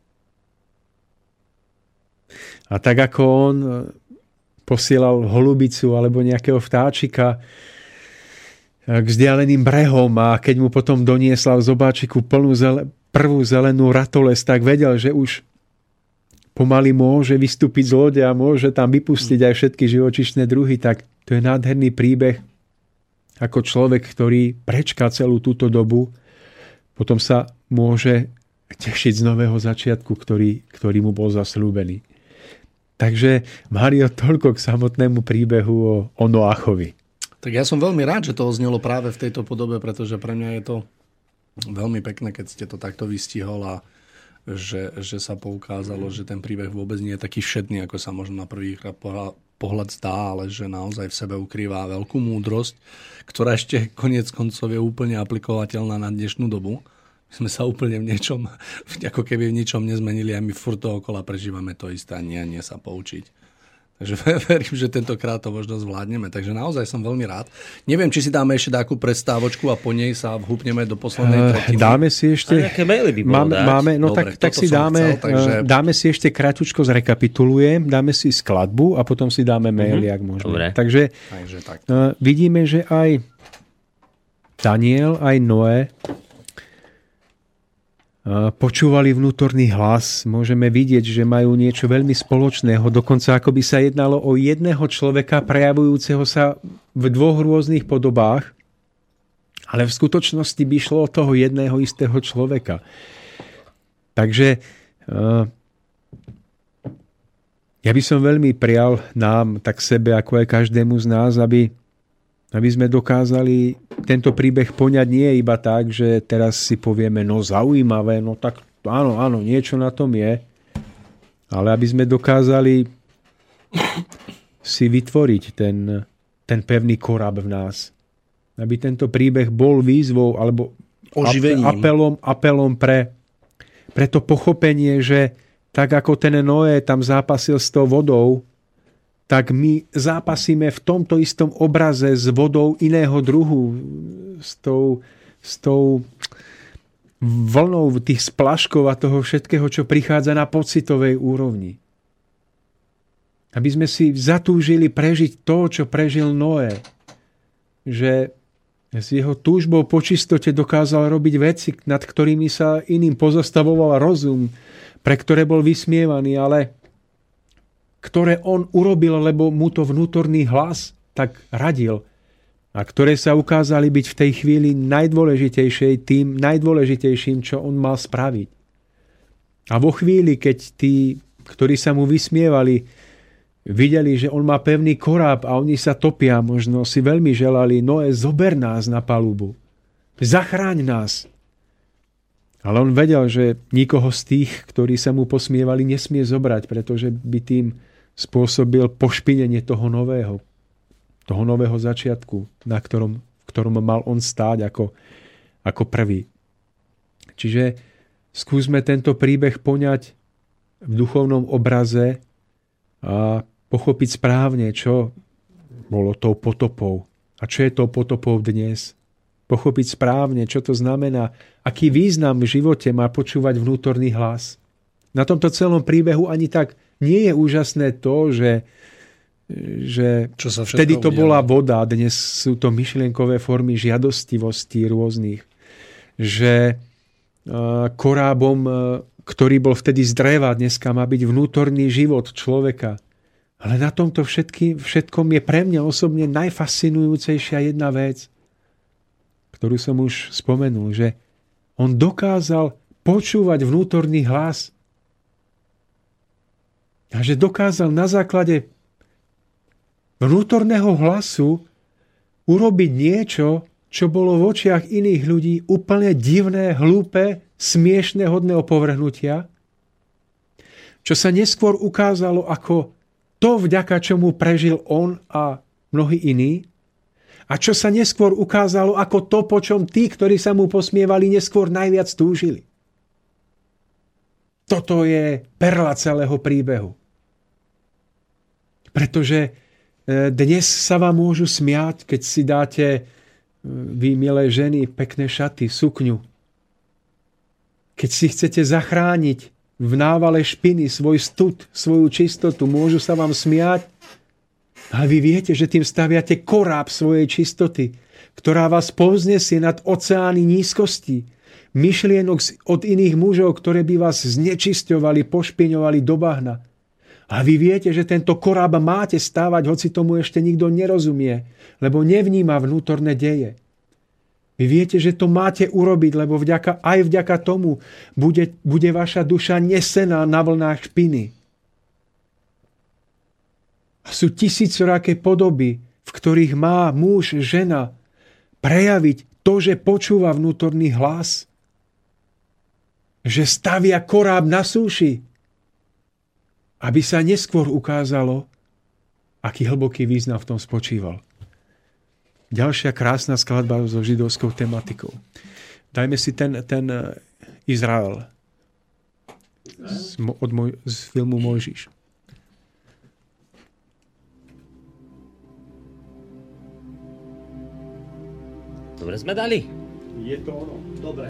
A tak ako on posielal holubicu alebo nejakého vtáčika k vzdialeným brehom a keď mu potom doniesla v zobáčiku plnú zele, prvú zelenú ratoles, tak vedel, že už pomaly môže vystúpiť z lode a môže tam vypustiť aj všetky živočíšne druhy. Tak to je nádherný príbeh, ako človek, ktorý prečká celú túto dobu, potom sa môže tešiť z nového začiatku, ktorý, ktorý mu bol zasľúbený. Takže, Mário, toľko k samotnému príbehu o, o Noachovi. Tak ja som veľmi rád, že to oznelo práve v tejto podobe, pretože pre mňa je to veľmi pekné, keď ste to takto vystihol a že, že sa poukázalo, že ten príbeh vôbec nie je taký všedný, ako sa možno na prvý pohľad zdá, ale že naozaj v sebe ukrýva veľkú múdrosť, ktorá ešte koniec koncov je úplne aplikovateľná na dnešnú dobu. My sme sa úplne v niečom, ako keby v ničom nezmenili a my furt dookola prežívame to isté a nie, nie sa poučiť. Takže verím, že tentokrát to možno zvládneme. Takže naozaj som veľmi rád. Neviem, či si dáme ešte takú prestávočku a po nej sa vhupneme do poslednej tretiny. Dáme si ešte... A nejaké maily by bolo máme, dať. máme, no Dobre, tak, tak si dáme, chcel, takže... dáme si ešte kratučko zrekapitulujem, dáme si skladbu a potom si dáme maily, mm-hmm. ak môžeme. Dobre. Takže takže tak. uh, vidíme, že aj Daniel, aj Noé počúvali vnútorný hlas. Môžeme vidieť, že majú niečo veľmi spoločného. Dokonca ako by sa jednalo o jedného človeka prejavujúceho sa v dvoch rôznych podobách, ale v skutočnosti by šlo o toho jedného istého človeka. Takže ja by som veľmi prial nám, tak sebe, ako aj každému z nás, aby aby sme dokázali tento príbeh poňať nie iba tak, že teraz si povieme, no zaujímavé, no tak áno, áno, niečo na tom je, ale aby sme dokázali si vytvoriť ten, ten pevný koráb v nás. Aby tento príbeh bol výzvou alebo oživením. apelom, apelom pre, pre to pochopenie, že tak ako ten Noé tam zápasil s tou vodou, tak my zápasíme v tomto istom obraze s vodou iného druhu, s tou, s tou vlnou tých splaškov a toho všetkého, čo prichádza na pocitovej úrovni. Aby sme si zatúžili prežiť to, čo prežil Noé. Že s jeho túžbou po čistote dokázal robiť veci, nad ktorými sa iným pozostavoval rozum, pre ktoré bol vysmievaný, ale ktoré on urobil, lebo mu to vnútorný hlas tak radil a ktoré sa ukázali byť v tej chvíli najdôležitejšej, tým najdôležitejším, čo on mal spraviť. A vo chvíli, keď tí, ktorí sa mu vysmievali, videli, že on má pevný koráb a oni sa topia, možno si veľmi želali, Noé, zober nás na palubu, zachráň nás. Ale on vedel, že nikoho z tých, ktorí sa mu posmievali, nesmie zobrať, pretože by tým spôsobil pošpinenie toho nového, toho nového začiatku, na ktorom, v ktorom mal on stáť ako, ako prvý. Čiže skúsme tento príbeh poňať v duchovnom obraze a pochopiť správne, čo bolo tou potopou a čo je tou potopou dnes. Pochopiť správne, čo to znamená, aký význam v živote má počúvať vnútorný hlas. Na tomto celom príbehu ani tak nie je úžasné to, že, že čo sa vtedy to udialo. Bola voda, dnes sú to myšlienkové formy žiadostivosti rôznych. Že korábom, ktorý bol vtedy z dreva, dneska má byť vnútorný život človeka. Ale na tomto všetky, všetkom je pre mňa osobne najfascinujúcejšia jedna vec, ktorú som už spomenul, že on dokázal počúvať vnútorný hlas a že dokázal na základe vnútorného hlasu urobiť niečo, čo bolo v očiach iných ľudí úplne divné, hlúpe, smiešné, hodné opovrhnutia, čo sa neskôr ukázalo ako to, vďaka čomu prežil on a mnohí iní, a čo sa neskôr ukázalo ako to, po čom tí, ktorí sa mu posmievali, neskôr najviac túžili. Toto je perla celého príbehu. Pretože dnes sa vám môžu smiať, keď si dáte, vy, milé ženy, pekné šaty, sukňu. Keď si chcete zachrániť v návale špiny svoj stud, svoju čistotu, môžu sa vám smiať, ale vy viete, že tým staviate koráb svojej čistoty, ktorá vás povznesie nad oceány nízkosti, myšlienok od iných mužov, ktoré by vás znečisťovali, pošpiňovali do bahna. A vy viete, že tento koráb máte stávať, hoci tomu ešte nikto nerozumie, lebo nevníma vnútorné deje. Vy viete, že to máte urobiť, lebo vďaka, aj vďaka tomu bude, bude vaša duša nesená na vlnách špiny. A sú tisícoraké podoby, v ktorých má muž, žena prejaviť to, že počúva vnútorný hlas. Že stavia koráb na súši, aby sa neskôr ukázalo, aký hlboký význam v tom spočíval. Ďalšia krásna skladba so židovskou tematikou. Dajme si ten, ten Izrael z, od moj, z filmu Mojžiš. Dobre sme dali. Je to ono. Dobre.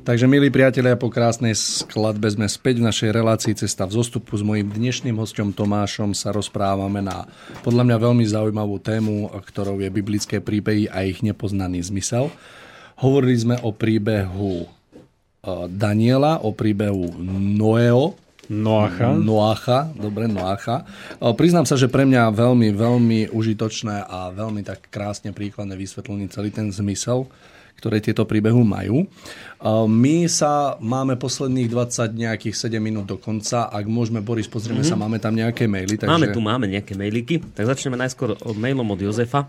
Takže, milí priatelia, po krásnej skladbe sme späť v našej relácii Cesta v zostupu. S mojím dnešným hosťom Tomášom sa rozprávame na podľa mňa veľmi zaujímavú tému, ktorou je biblické príbehy a ich nepoznaný zmysel. Hovorili sme o príbehu Daniela, o príbehu Noého, Noacha. Noacha, dobre, Noacha. Priznám sa, že pre mňa veľmi, veľmi užitočné a veľmi tak krásne príkladne vysvetlený celý ten zmysel, ktoré tieto príbehu majú. My sa máme posledných dvadsať nejakých sedem minút do konca. Ak môžeme, Boris, pozrieme mm-hmm. sa, máme tam nejaké maily. Takže... Máme tu, máme nejaké mailiky. Tak začneme najskôr od mailom od Jozefa.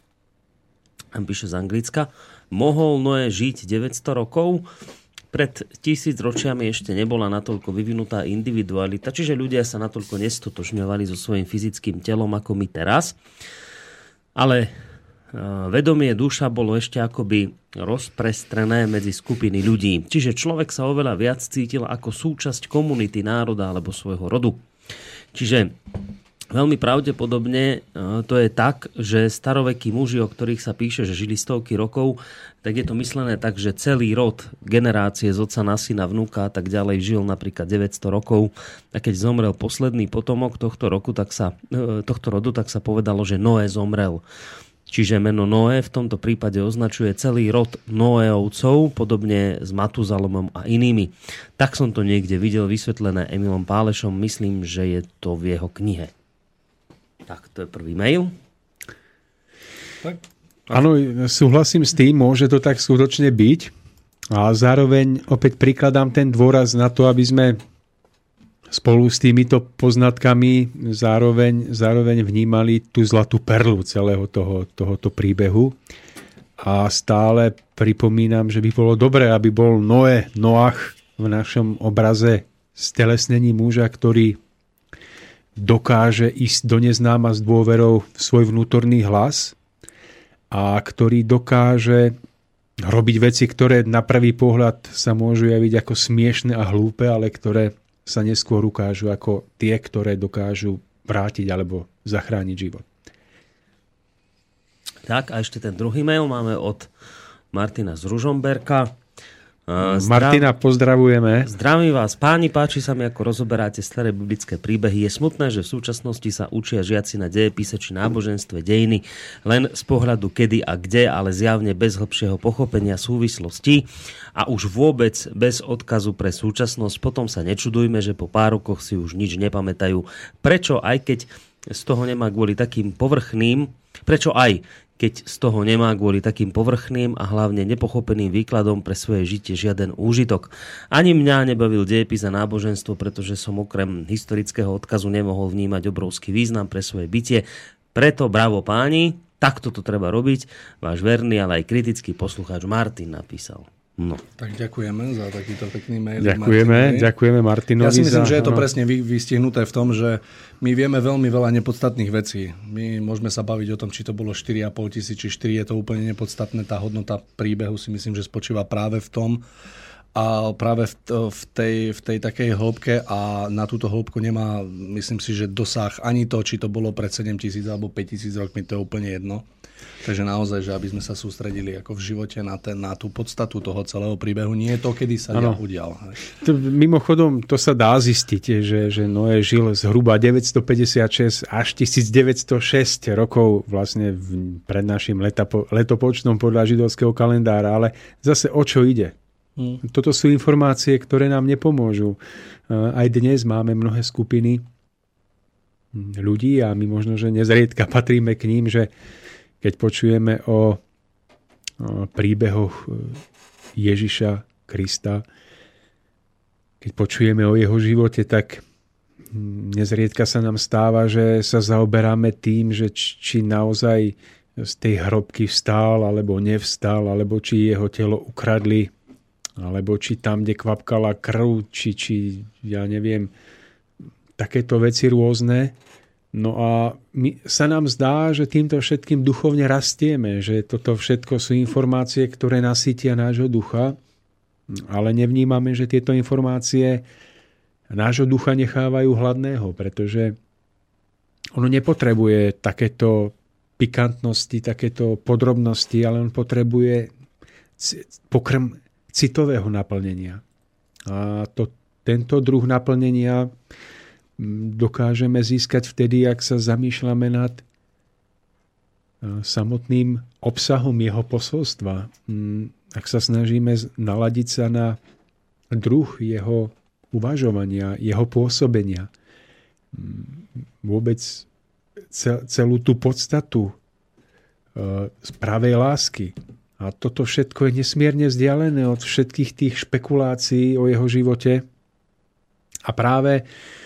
On píše z Anglicka. Mohol Noé žiť deväťsto rokov? Pred tisíc ročiami ešte nebola natoľko vyvinutá individualita, čiže ľudia sa natoľko nestotožňovali so svojím fyzickým telom ako my teraz. Ale vedomie duša bolo ešte akoby rozprestrené medzi skupiny ľudí. Čiže človek sa oveľa viac cítil ako súčasť komunity, národa alebo svojho rodu. Čiže veľmi pravdepodobne to je tak, že starovekí muži, o ktorých sa píše, že žili stovky rokov, tak je to myslené tak, že celý rod, generácie z otca na syna, vnúka a tak ďalej žil napríklad deväťsto rokov. A keď zomrel posledný potomok tohto roku, tak sa, tohto rodu, tak sa povedalo, že Noé zomrel. Čiže meno Noé v tomto prípade označuje celý rod Noéovcov, podobne s Matuzalomom a inými. Tak som to niekde videl vysvetlené Emilom Pálešom. Myslím, že je to v jeho knihe. Tak, to je prvý mail. Tak. Áno, súhlasím s tým, môže to tak skutočne byť. A zároveň opäť prikladám ten dôraz na to, aby sme spolu s týmito poznatkami zároveň, zároveň vnímali tú zlatú perlu celého toho, tohoto príbehu. A stále pripomínam, že by bolo dobré, aby bol Noé, Noach v našom obraze stelesnení muža, ktorý dokáže ísť do neznáma s dôverou v svoj vnútorný hlas a ktorý dokáže robiť veci, ktoré na prvý pohľad sa môžu javiť ako smiešne a hlúpe, ale ktoré sa neskôr ukážu ako tie, ktoré dokážu vrátiť alebo zachrániť život. Tak, a ešte ten druhý mail máme od Martina z Ružomberka. Zdrav... Martina, pozdravujeme. Zdravím vás, páni, páči sa mi, ako rozoberáte staré biblické príbehy. Je smutné, že v súčasnosti sa učia žiaci na dejepise či náboženstve dejiny len z pohľadu kedy a kde, ale zjavne bez hlbšieho pochopenia súvislostí a už vôbec bez odkazu pre súčasnosť. Potom sa nečudujme, že po pár rokoch si už nič nepamätajú. Prečo, aj keď z toho nemá kvôli takým povrchným, prečo aj keď z toho nemá kvôli takým povrchným a hlavne nepochopeným výkladom pre svoje žitie žiaden úžitok. Ani mňa nebavil dejepis a náboženstvo, pretože som okrem historického odkazu nemohol vnímať obrovský význam pre svoje bytie. Preto bravo páni, takto to treba robiť. Váš verný, ale aj kritický poslucháč Martin napísal. No. Tak ďakujeme za takýto pekný mail. Ďakujeme, Martinovi. ďakujeme Martinovi. Ja si myslím, za... že je to no. presne vystihnuté v tom, že my vieme veľmi veľa nepodstatných vecí. My môžeme sa baviť o tom, či to bolo štyri a pol tisíc, či štyri, je to úplne nepodstatné. Tá hodnota príbehu si myslím, že spočíva práve v tom a práve v, v, tej, v tej takej hĺbke a na túto hĺbku nemá, myslím si, že dosah ani to, či to bolo pred sedem tisíc alebo päť tisíc rokmi, to je úplne jedno. Takže naozaj, že aby sme sa sústredili ako v živote na, ten, na tú podstatu toho celého príbehu, nie je to, kedy sa ano. udial. To, mimochodom, to sa dá zistiť, že, že Noé žil zhruba deväťstopäťdesiatšesť až tisícdeväťstošesť rokov vlastne v, pred našim letapo, letopočtom podľa židovského kalendára, ale zase o čo ide? Hmm. Toto sú informácie, ktoré nám nepomôžu. Aj dnes máme mnohé skupiny ľudí a my možno, že nezriedka patríme k ním, že keď počujeme o, o príbehoch Ježiša Krista, keď počujeme o jeho živote, tak nezriedka sa nám stáva, že sa zaoberáme tým, že či naozaj z tej hrobky vstál, alebo nevstal, alebo či jeho telo ukradli, alebo či tam, kde kvapkala krv, či, či ja neviem, takéto veci rôzne. No a my, sa nám zdá, že týmto všetkým duchovne rastieme, že toto všetko sú informácie, ktoré nasýtia nášho ducha, ale nevnímame, že tieto informácie nášho ducha nechávajú hladného, pretože ono nepotrebuje takéto pikantnosti, takéto podrobnosti, ale on potrebuje pokrm citového naplnenia. A to, tento druh naplnenia dokážeme získať vtedy, ak sa zamýšľame nad samotným obsahom jeho posolstva. Ak sa snažíme naladiť sa na druh jeho uvažovania, jeho pôsobenia. Vôbec celú tú podstatu pravej lásky. A toto všetko je nesmierne vzdialené od všetkých tých špekulácií o jeho živote. A práve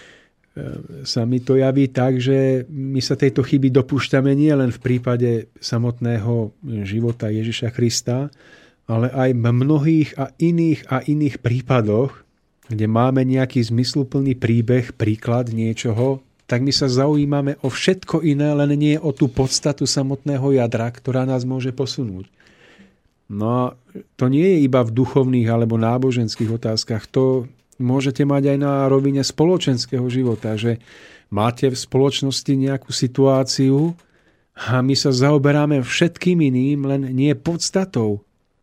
sa mi to javí tak, že my sa tejto chyby dopúšťame nie len v prípade samotného života Ježiša Krista, ale aj v mnohých a iných a iných prípadoch, kde máme nejaký zmysluplný príbeh, príklad niečoho, tak my sa zaujímame o všetko iné, len nie o tú podstatu samotného jadra, ktorá nás môže posunúť. No a to nie je iba v duchovných alebo náboženských otázkach, to môžete mať aj na rovine spoločenského života, že máte v spoločnosti nejakú situáciu a my sa zaoberáme všetkým iným, len nie podstatou.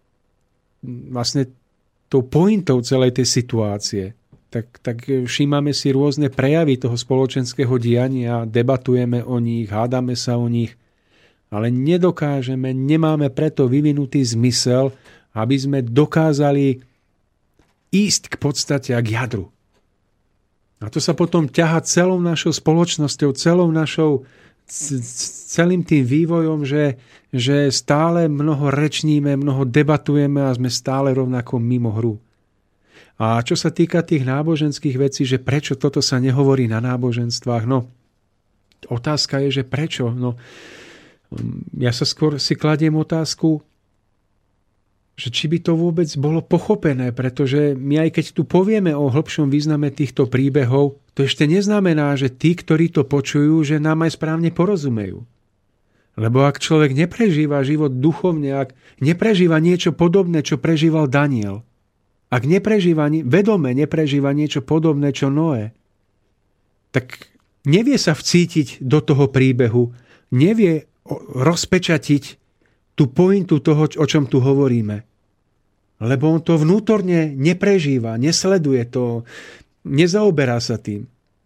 Vlastne tou pointou celej tej situácie. Tak, tak všímame si rôzne prejavy toho spoločenského diania, debatujeme o nich, hádame sa o nich, ale nedokážeme, nemáme preto vyvinutý zmysel, aby sme dokázali ísť k podstate a k jadru. A to sa potom ťahá celou našou spoločnosťou, celou našou, celým tým vývojom, že, že stále mnoho rečníme, mnoho debatujeme a sme stále rovnako mimo hru. A čo sa týka tých náboženských vecí, že prečo toto sa nehovorí na náboženstvách, no otázka je, že prečo? No, ja sa skôr si kladiem otázku, že či by to vôbec bolo pochopené, pretože my aj keď tu povieme o hĺbšom význame týchto príbehov, to ešte neznamená, že tí, ktorí to počujú, že nám aj správne porozumejú. Lebo ak človek neprežíva život duchovne, ak neprežíva niečo podobné, čo prežíval Daniel, ak neprežíva, vedome neprežíva niečo podobné, čo Noé, tak nevie sa vcítiť do toho príbehu, nevie rozpečatiť tú pointu toho, o čom tu hovoríme. Lebo on to vnútorne neprežíva, nesleduje to, nezaoberá sa tým.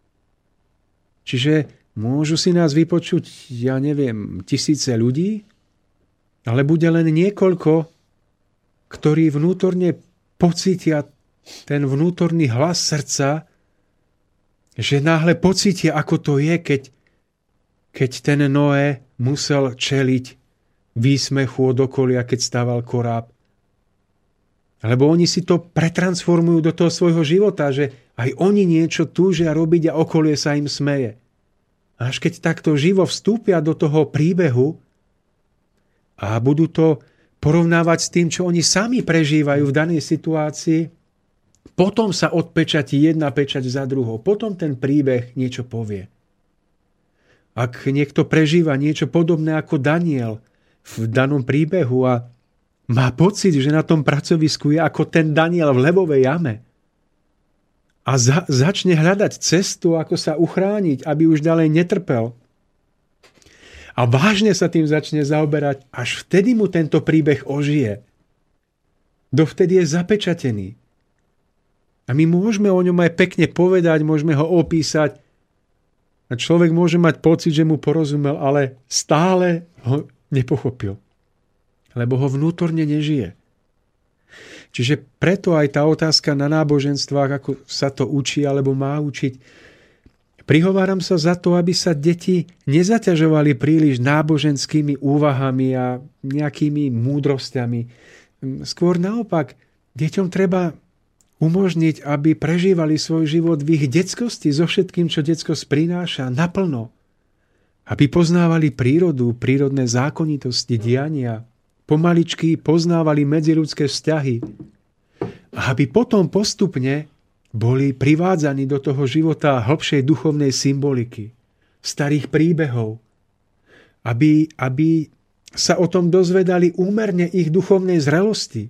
Čiže môžu si nás vypočuť, ja neviem, tisíce ľudí, ale bude len niekoľko, ktorí vnútorne pocítia ten vnútorný hlas srdca, že náhle pocítia, ako to je, keď, keď ten Noé musel čeliť výsmechu od okolia, keď stával koráb. Lebo oni si to pretransformujú do toho svojho života, že aj oni niečo túžia robiť a okolie sa im smeje. A až keď takto živo vstúpia do toho príbehu a budú to porovnávať s tým, čo oni sami prežívajú v danej situácii, potom sa odpečatí jedna pečať za druhou. Potom ten príbeh niečo povie. Ak niekto prežíva niečo podobné ako Daniel v danom príbehu a má pocit, že na tom pracovisku je ako ten Daniel v levovej jame a za, začne hľadať cestu, ako sa uchrániť, aby už ďalej netrpel, a vážne sa tým začne zaoberať, až vtedy mu tento príbeh ožije. Dovtedy je zapečatený. A my môžeme o ňom aj pekne povedať, môžeme ho opísať a človek môže mať pocit, že mu porozumel, ale stále ho nepochopil. Lebo ho vnútorne nežije. Čiže preto aj tá otázka na náboženstvách, ako sa to učí alebo má učiť, prihováram sa za to, aby sa deti nezaťažovali príliš náboženskými úvahami a nejakými múdrosťami. Skôr naopak, deťom treba umožniť, aby prežívali svoj život v ich detskosti so všetkým, čo detskosť prináša, naplno. Aby poznávali prírodu, prírodné zákonitosti, diania, pomaličky poznávali medziľudské vzťahy. A aby potom postupne boli privádzaní do toho života hlbšej duchovnej symboliky, starých príbehov, aby, aby sa o tom dozvedali úmerne ich duchovnej zrelosti.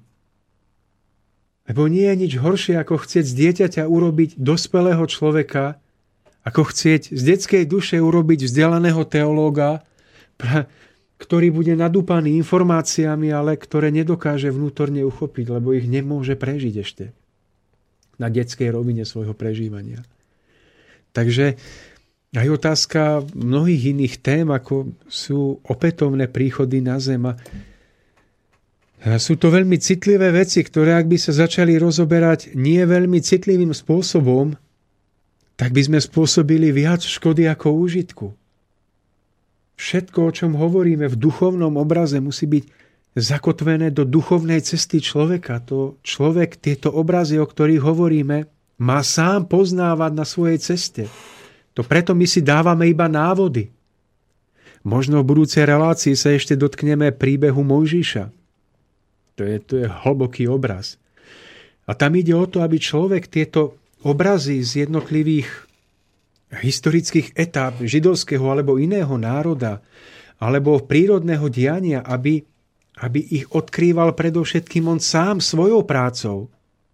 Lebo nie je nič horšie, ako chcieť z dieťaťa urobiť dospelého človeka, ako chcieť z detskej duše urobiť vzdelaného teológa, ktorý bude nadúpaný informáciami, ale ktoré nedokáže vnútorne uchopiť, lebo ich nemôže prežiť ešte na detskej rovine svojho prežívania. Takže aj otázka mnohých iných tém, ako sú opätovné príchody na zem. A sú to veľmi citlivé veci, ktoré ak by sa začali rozoberať nie veľmi citlivým spôsobom, tak by sme spôsobili viac škody ako úžitku. Všetko, o čom hovoríme v duchovnom obraze, musí byť zakotvené do duchovnej cesty človeka. To človek tieto obrazy, o ktorých hovoríme, má sám poznávať na svojej ceste. To preto my si dávame iba návody. Možno v budúcej relácii sa ešte dotkneme príbehu Mojžiša. To je, to je hlboký obraz. A tam ide o to, aby človek tieto obrazy z jednotlivých historických etáp židovského alebo iného národa alebo prírodného diania, aby, aby ich odkrýval predovšetkým on sám svojou prácou.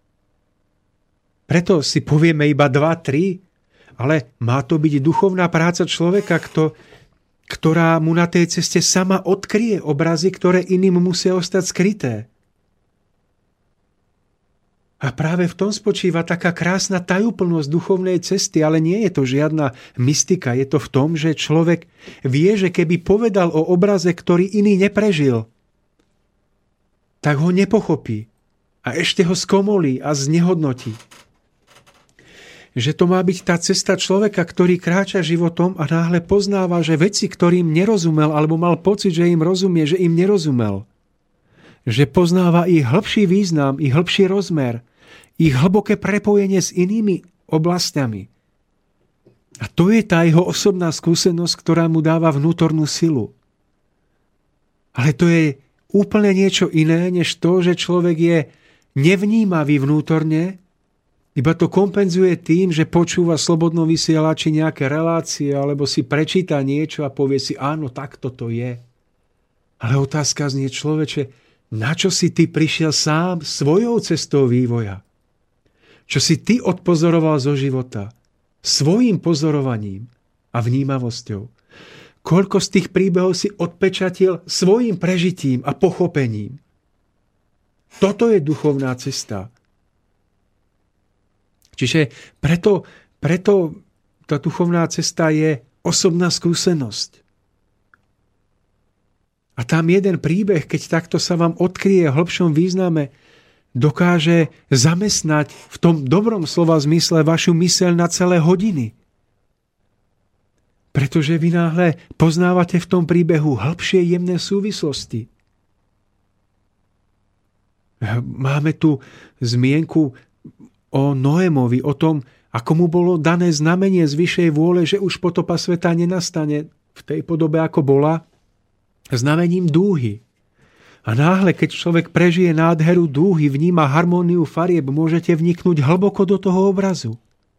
Preto si povieme iba dva, tri, ale má to byť duchovná práca človeka, kto, ktorá mu na tej ceste sama odkryje obrazy, ktoré iným musia ostať skryté. A práve v tom spočíva taká krásna tajúplnosť duchovnej cesty, ale nie je to žiadna mystika. Je to v tom, že človek vie, že keby povedal o obraze, ktorý iný neprežil, tak ho nepochopí a ešte ho skomolí a znehodnotí. Že to má byť tá cesta človeka, ktorý kráča životom a náhle poznáva, že veci, ktorým nerozumel alebo mal pocit, že im rozumie, že im nerozumel. Že poznáva ich hĺbší význam, ich hĺbší rozmer, ich hlboké prepojenie s inými oblastiami. A to je tá jeho osobná skúsenosť, ktorá mu dáva vnútornú silu. Ale to je úplne niečo iné, než to, že človek je nevnímavý vnútorne, iba to kompenzuje tým, že počúva slobodnom vysielači nejaké relácie alebo si prečíta niečo a povie si, áno, takto to je. Ale otázka znie, človeče, na čo si ty prišiel sám svojou cestou vývoja? Čo si ty odpozoroval zo života? Svojím pozorovaním a vnímavosťou. Koľko z tých príbehov si odpečatil svojím prežitím a pochopením? Toto je duchovná cesta. Čiže preto, preto tá duchovná cesta je osobná skúsenosť. A tam jeden príbeh, keď takto sa vám odkryje v hlbšom význame, dokáže zamestnať v tom dobrom slova zmysle vašu myseľ na celé hodiny. Pretože vy náhle poznávate v tom príbehu hĺbšie jemné súvislosti. Máme tu zmienku o Noémovi, o tom, ako mu bolo dané znamenie z vyššej vôle, že už potopa sveta nenastane v tej podobe, ako bola, znamením dúhy. A náhle, keď človek prežije nádheru dúhy, vníma harmóniu farieb, môžete vniknúť hlboko do toho obrazu.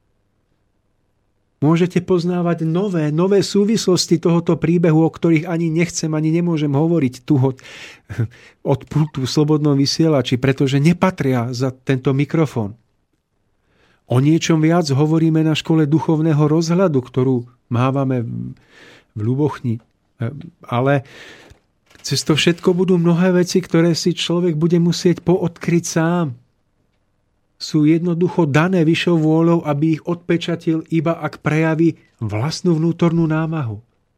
Môžete poznávať nové, nové súvislosti tohoto príbehu, o ktorých ani nechcem, ani nemôžem hovoriť tu od, od pultu v slobodnom vysielači, pretože nepatria za tento mikrofón. O niečom viac hovoríme na škole duchovného rozhľadu, ktorú mávame v Ľubochni. Ale cez to všetko budú mnohé veci, ktoré si človek bude musieť poodkryť sám. Sú jednoducho dané vyššou vôľou, aby ich odpečatil iba ak prejaví vlastnú vnútornú námahu.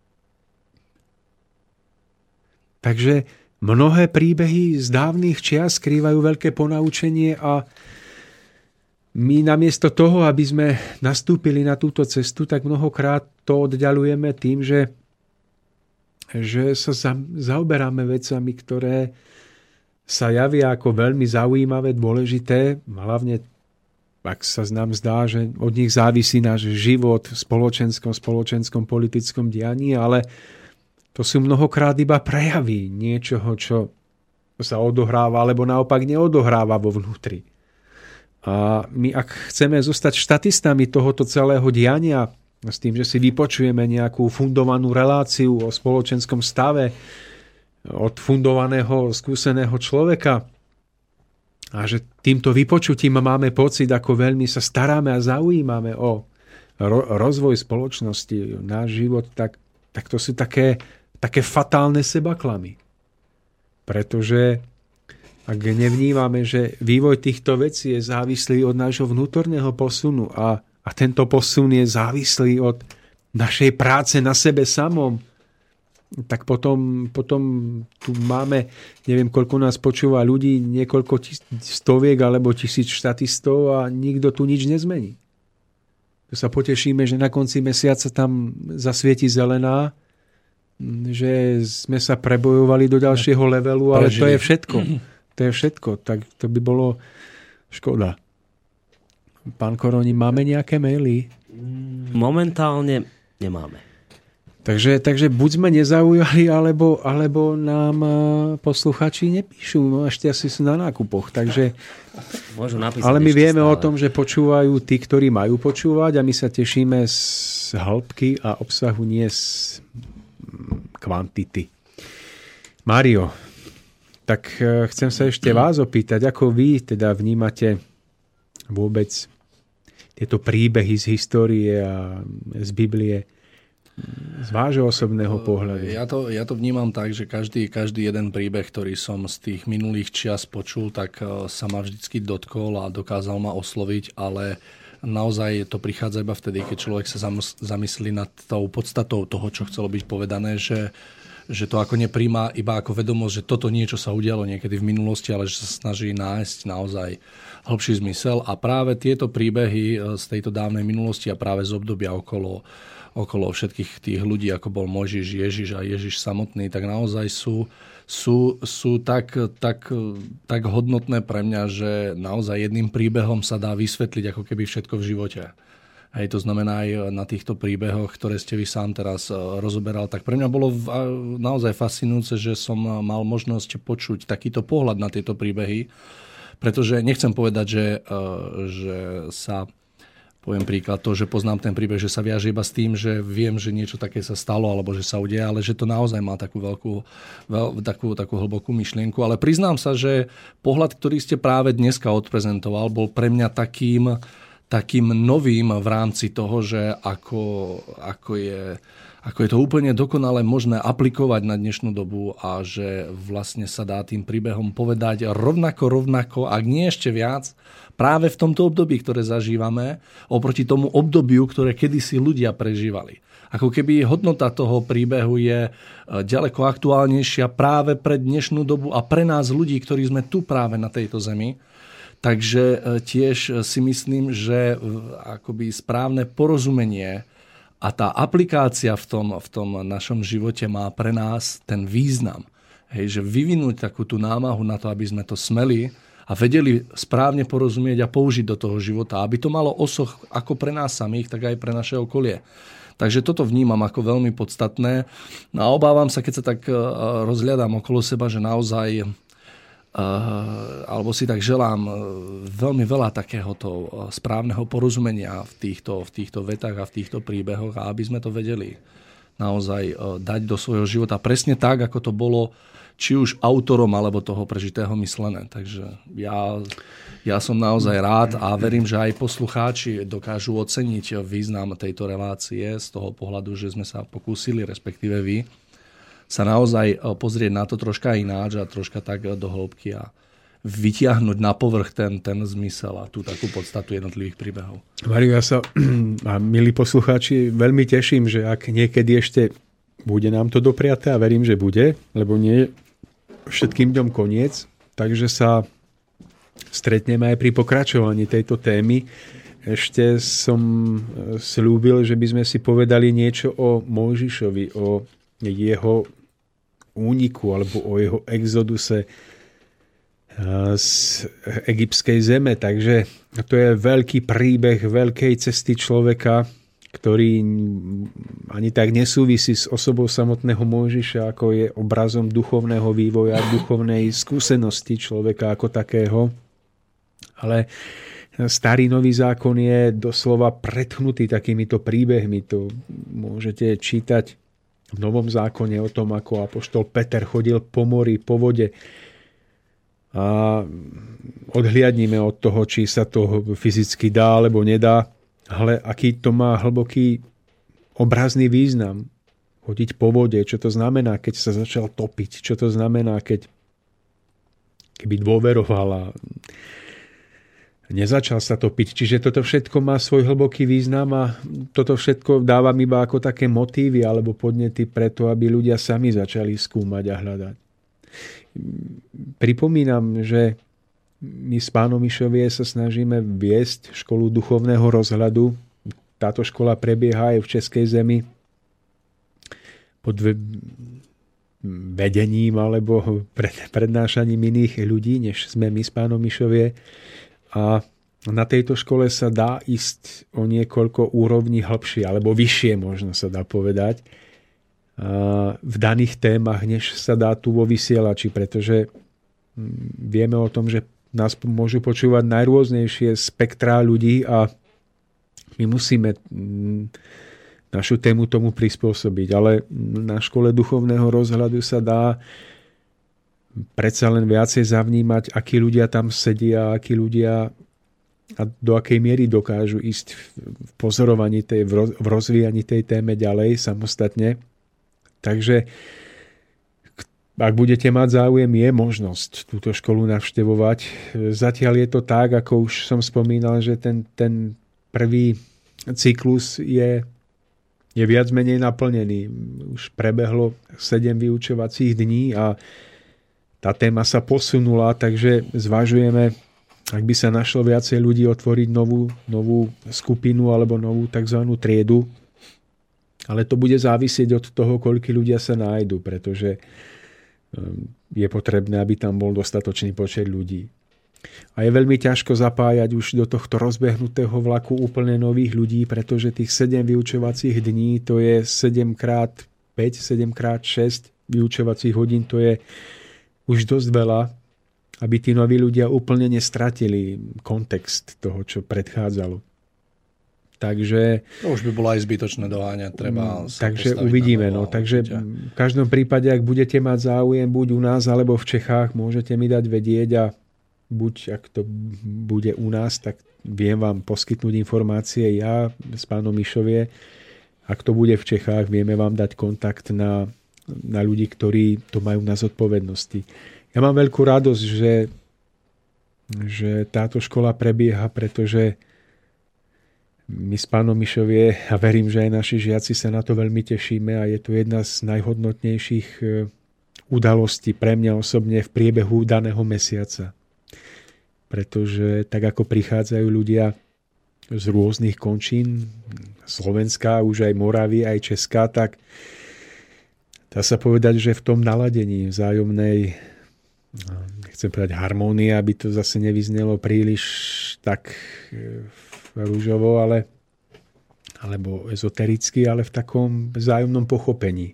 Takže mnohé príbehy z dávnych čias skrývajú veľké ponaučenie a my namiesto toho, aby sme nastúpili na túto cestu, tak mnohokrát to oddialujeme tým, že že sa za, zaoberáme vecami, ktoré sa javia ako veľmi zaujímavé, dôležité, hlavne ak sa nám zdá, že od nich závisí náš život v spoločenskom, spoločenskom, politickom dianí, ale to sú mnohokrát iba prejavy niečoho, čo sa odohráva, alebo naopak neodohráva vo vnútri. A my, ak chceme zostať štatistami tohoto celého diania, s tým, že si vypočujeme nejakú fundovanú reláciu o spoločenskom stave od fundovaného, skúseného človeka a že týmto vypočutím máme pocit, ako veľmi sa staráme a zaujímame o ro- rozvoj spoločnosti, náš život, tak, tak to sú také také fatálne sebaklamy. Pretože ak nevnímame, že vývoj týchto vecí je závislý od nášho vnútorného posunu a, a tento posun je závislý od našej práce na sebe samom, tak potom, potom tu máme, neviem, koľko nás počúva ľudí, niekoľko tis, stoviek alebo tisíc štatistov a nikto tu nič nezmení. Tu sa potešíme, že na konci mesiaca tam zasvieti zelená, že sme sa prebojovali do ďalšieho levelu, ale Prežili. to je všetko. To je všetko. Tak to by bolo škoda. Pán Koroni, máme nejaké maily? Momentálne nemáme. Takže, takže buď sme nezaujali, alebo, alebo nám posluchači nepíšu. No ešte asi sú na nákupoch. Takže, Môžu napísať ale my vieme stále. o tom, že počúvajú tí, ktorí majú počúvať a my sa tešíme z hĺbky a obsahu, nie z kvantity. Mário, tak chcem sa ešte vás opýtať, ako vy teda vnímate vôbec tieto príbehy z histórie a z Biblie z vášho osobného pohľadu? Ja to, ja to vnímam tak, že každý, každý jeden príbeh, ktorý som z tých minulých čias počul, tak sa ma vždycky dotkol a dokázal ma osloviť, ale naozaj to prichádza iba vtedy, keď človek sa zamyslí nad tou podstatou toho, čo chcelo byť povedané, že že to ako nepríjma iba ako vedomosť, že toto niečo sa udialo niekedy v minulosti, ale že sa snaží nájsť naozaj hlbší zmysel. A práve tieto príbehy z tejto dávnej minulosti a práve z obdobia okolo, okolo všetkých tých ľudí, ako bol Mojžiš, Ježiš a Ježiš samotný, tak naozaj sú, sú, sú tak, tak, tak hodnotné pre mňa, že naozaj jedným príbehom sa dá vysvetliť ako keby všetko v živote. Hej, to znamená aj na týchto príbehoch, ktoré ste vy sám teraz rozoberal, tak pre mňa bolo naozaj fascinujúce, že som mal možnosť počuť takýto pohľad na tieto príbehy, pretože nechcem povedať, že, že sa, poviem príklad, to, že poznám ten príbeh, že sa viaže iba s tým, že viem, že niečo také sa stalo alebo že sa udeje, ale že to naozaj má takú veľkú, veľ, takú, takú hlbokú myšlienku. Ale priznám sa, že pohľad, ktorý ste práve dneska odprezentoval, bol pre mňa takým takým novým v rámci toho, že ako, ako, je, ako je to úplne dokonale možné aplikovať na dnešnú dobu a že vlastne sa dá tým príbehom povedať rovnako, rovnako, ak nie ešte viac, práve v tomto období, ktoré zažívame, oproti tomu obdobiu, ktoré kedysi ľudia prežívali. Ako keby hodnota toho príbehu je ďaleko aktuálnejšia práve pre dnešnú dobu a pre nás ľudí, ktorí sme tu práve na tejto zemi. Takže tiež si myslím, že akoby správne porozumenie a tá aplikácia v tom, v tom našom živote má pre nás ten význam. Hej, že vyvinúť takú tú námahu na to, aby sme to smeli a vedeli správne porozumieť a použiť do toho života. Aby to malo osoch ako pre nás samých, tak aj pre naše okolie. Takže toto vnímam ako veľmi podstatné. No a obávam sa, keď sa tak rozhľadám okolo seba, že naozaj Uh, alebo si tak želám uh, veľmi veľa takéhoto uh, správneho porozumenia v týchto, v týchto vetách a v týchto príbehoch a aby sme to vedeli naozaj uh, dať do svojho života presne tak, ako to bolo či už autorom alebo toho prežitého myslené. Takže ja, ja som naozaj rád a verím, že aj poslucháči dokážu oceniť význam tejto relácie z toho pohľadu, že sme sa pokúsili, respektíve vy, sa naozaj pozrieť na to troška ináč a troška tak do hĺbky a vytiahnuť na povrch ten, ten zmysel a tú takú podstatu jednotlivých príbehov. Mário, ja sa, a milí poslucháči, veľmi teším, že ak niekedy ešte bude nám to dopriaté a verím, že bude, lebo nie všetkým dňom koniec, takže sa stretneme aj pri pokračovaní tejto témy. Ešte som slúbil, že by sme si povedali niečo o Mojžišovi, o jeho úniku alebo o jeho exoduse z egyptskej zeme. Takže to je veľký príbeh veľkej cesty človeka, ktorý ani tak nesúvisí s osobou samotného Mojžiša, ako je obrazom duchovného vývoja, duchovnej skúsenosti človeka ako takého. Ale starý nový zákon je doslova pretchnutý takýmito príbehmi. To môžete čítať v Novom zákone o tom, ako apoštol Peter chodil po mori, po vode. A odhliadnime od toho, či sa to fyzicky dá, alebo nedá, ale aký to má hlboký obrazný význam. chodiť po vode, čo to znamená, keď sa začal topiť, čo to znamená, keď keby dôveroval a nezačal sa topiť. Čiže toto všetko má svoj hlboký význam a toto všetko dávam iba ako také motívy alebo podnety preto, aby ľudia sami začali skúmať a hľadať. Pripomínam, že my z Pánom Mišovie sa snažíme viesť školu duchovného rozhľadu. Táto škola prebieha aj v Českej zemi pod vedením alebo prednášaním iných ľudí, než sme my z Pánom Mišovie. A na tejto škole sa dá ísť o niekoľko úrovní hlbšie, alebo vyššie možno sa dá povedať, v daných témach, než sa dá tu vo vysielači, pretože vieme o tom, že nás môžu počúvať najrôznejšie spektrá ľudí a my musíme našu tému tomu prispôsobiť. Ale na škole duchovného rozhľadu sa dá predsa len viacej zavnímať, akí ľudia tam sedia, akí ľudia a do akej miery dokážu ísť v pozorovaní tej, v rozvíjaní tej téme ďalej samostatne. Takže ak budete mať záujem, je možnosť túto školu navštevovať. Zatiaľ je to tak, ako už som spomínal, že ten, ten prvý cyklus je, je viac menej naplnený. Už prebehlo sedem vyučovacích dní a tá téma sa posunula, takže zvažujeme, ak by sa našlo viacej ľudí, otvoriť novú, novú skupinu alebo novú tzv. Triedu. Ale to bude závisieť od toho, koľko ľudia sa nájdu, pretože je potrebné, aby tam bol dostatočný počet ľudí. A je veľmi ťažko zapájať už do tohto rozbehnutého vlaku úplne nových ľudí, pretože tých sedem vyučovacích dní, to je sedem krát päť, sedem krát šesť vyučovacích hodín, to je už dosť veľa, aby tí noví ľudia úplne nestratili kontext toho, čo predchádzalo. Takže to už by bolo aj zbytočné doháňať, treba sa takže uvidíme. Na novo, no. Takže v každom prípade, ak budete mať záujem buď u nás, alebo v Čechách, môžete mi dať vedieť a buď, ak to bude u nás, tak viem vám poskytnúť informácie ja s Pánom Mišovie. Ak to bude v Čechách, vieme vám dať kontakt na, na ľudí, ktorí to majú na zodpovednosti. Ja mám veľkú radosť, že, že táto škola prebieha, pretože my s Pánom Mišovie a verím, že aj naši žiaci sa na to veľmi tešíme a je to jedna z najhodnotnejších udalostí pre mňa osobne v priebehu daného mesiaca. Pretože tak ako prichádzajú ľudia z rôznych končín, Slovenska, už aj Moravy, aj Česká, tak dá sa povedať, že v tom naladení vzájomnej, nechcem povedať harmónie, aby to zase nevyznelo príliš tak rúžovo, ale, alebo ezotericky, ale v takom vzájomnom pochopení.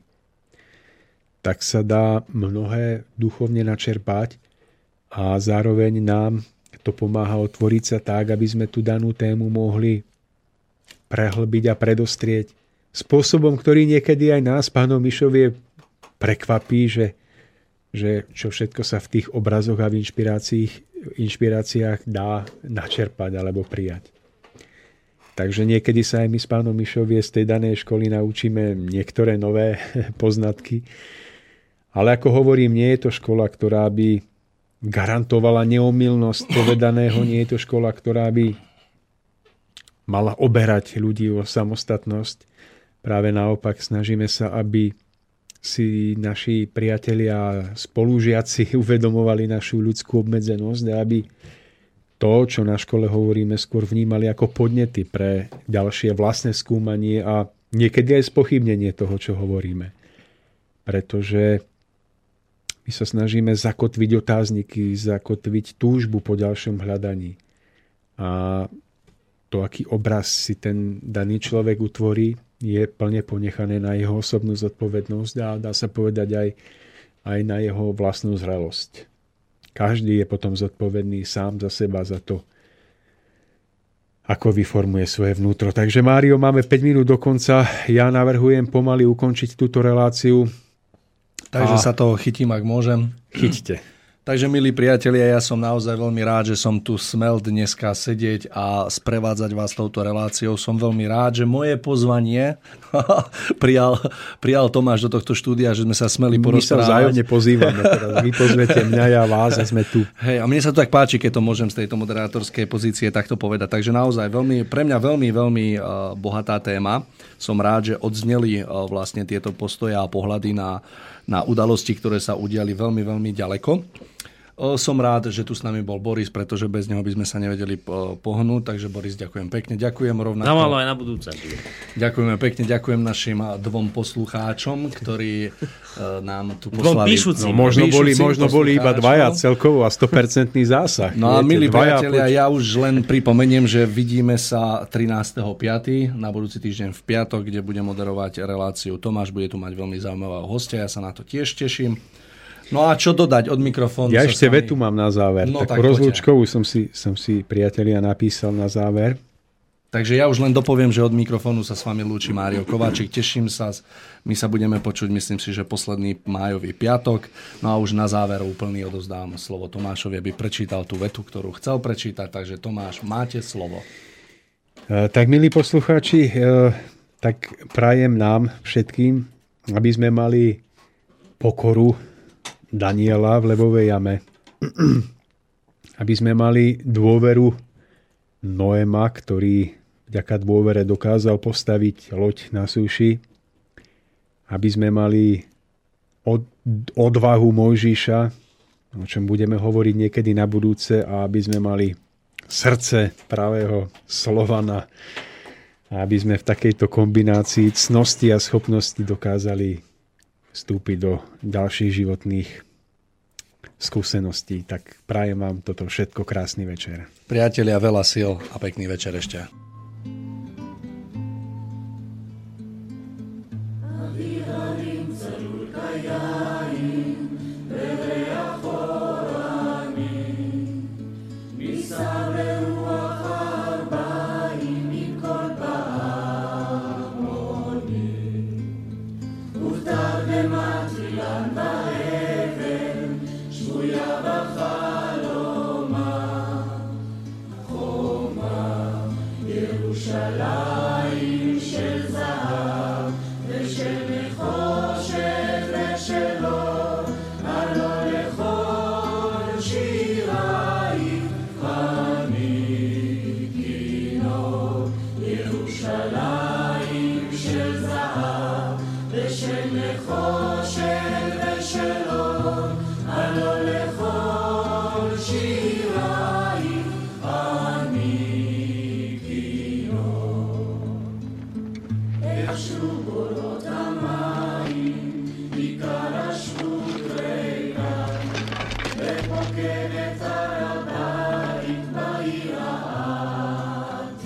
Tak sa dá mnohé duchovne načerpať a zároveň nám to pomáha otvoriť sa tak, aby sme tú danú tému mohli prehlbiť a predostrieť spôsobom, ktorý niekedy aj nás, Pánom Mišovie, prekvapí, že, že čo všetko sa v tých obrazoch a v inšpiráciách, inšpiráciách dá načerpať alebo prijať. Takže niekedy sa aj my s Pánom Mišovie z tej danej školy naučíme niektoré nové poznatky. Ale ako hovorím, nie je to škola, ktorá by garantovala neomylnosť povedaného, nie je to škola, ktorá by mala oberať ľudí o samostatnosť. Práve naopak snažíme sa, aby si naši priatelia a spolužiaci uvedomovali našu ľudskú obmedzenosť a aby to, čo na škole hovoríme, skôr vnímali ako podnety pre ďalšie vlastné skúmanie a niekedy aj spochybnenie toho, čo hovoríme. Pretože my sa snažíme zakotviť otázniky, zakotviť túžbu po ďalšom hľadaní. A to, aký obraz si ten daný človek utvorí, je plne ponechané na jeho osobnú zodpovednosť a dá sa povedať aj, aj na jeho vlastnú zrelosť. Každý je potom zodpovedný sám za seba, za to, ako vyformuje svoje vnútro. Takže, Mário, máme päť minút do konca. Ja navrhujem pomaly ukončiť túto reláciu. Takže a sa toho chytím, ak môžem. Chyťte. Takže, milí priatelia, ja som naozaj veľmi rád, že som tu smel dneska sedieť a sprevádzať vás touto reláciou. Som veľmi rád, že moje pozvanie prijal, prijal Tomáš do tohto štúdia, že sme sa smeli porozprávať. My sa vzájomne pozývame. Teraz vy pozvete mňa, ja vás a sme tu. Hej, a mne sa to tak páči, keď to môžem z tejto moderátorskej pozície takto povedať. Takže naozaj veľmi, pre mňa veľmi, veľmi uh, bohatá téma. Som rád, že odzneli uh, vlastne tieto postoje a pohľady na, na udalosti, ktoré sa udiali veľmi, veľmi ďaleko. Som rád, že tu s nami bol Boris, pretože bez neho by sme sa nevedeli pohnúť. Takže Boris, ďakujem pekne. Ďakujem rovnako. Na malo aj na budúce. Ďakujeme pekne. Ďakujem našim dvom poslucháčom, ktorí nám tu poslali. Dvom píšucim. No, možno boli, možno boli iba dvaja celkovo a sto percent zásah. No a milí priatelia, ja už len pripomeniem, že vidíme sa trinásteho piateho na budúci týždeň v piatok, kde bude moderovať reláciu Tomáš. Bude tu mať veľmi zaujímavého hostia. Ja sa na to tiež teším. No a čo dodať od mikrofónu? Ja ešte vetu mám na záver. No, tak rozlúčkovú som si, som si, priatelia, napísal na záver. Takže ja už len dopoviem, že od mikrofónu sa s vami lúči Mário Kováčik. Teším sa. My sa budeme počuť, myslím si, že posledný májový piatok. No a už na záver úplný odovzdám slovo Tomášovi, aby prečítal tú vetu, ktorú chcel prečítať. Takže Tomáš, máte slovo. E, tak, milí poslucháči, e, tak prajem nám všetkým, aby sme mali pokoru Daniela v levovej jame. Aby sme mali dôveru Noema, ktorý vďaka dôvere dokázal postaviť loď na súši. Aby sme mali od, odvahu Mojžiša, o čom budeme hovoriť niekedy na budúce, a aby sme mali srdce pravého Slovana. A aby sme v takejto kombinácii cnosti a schopnosti dokázali vstúpiť do ďalších životných skúseností. Tak prajem vám toto všetko, krásny večer. Priatelia, veľa síl a pekný večer ešte.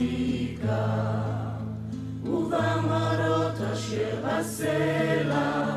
ובמראות אשר בסלע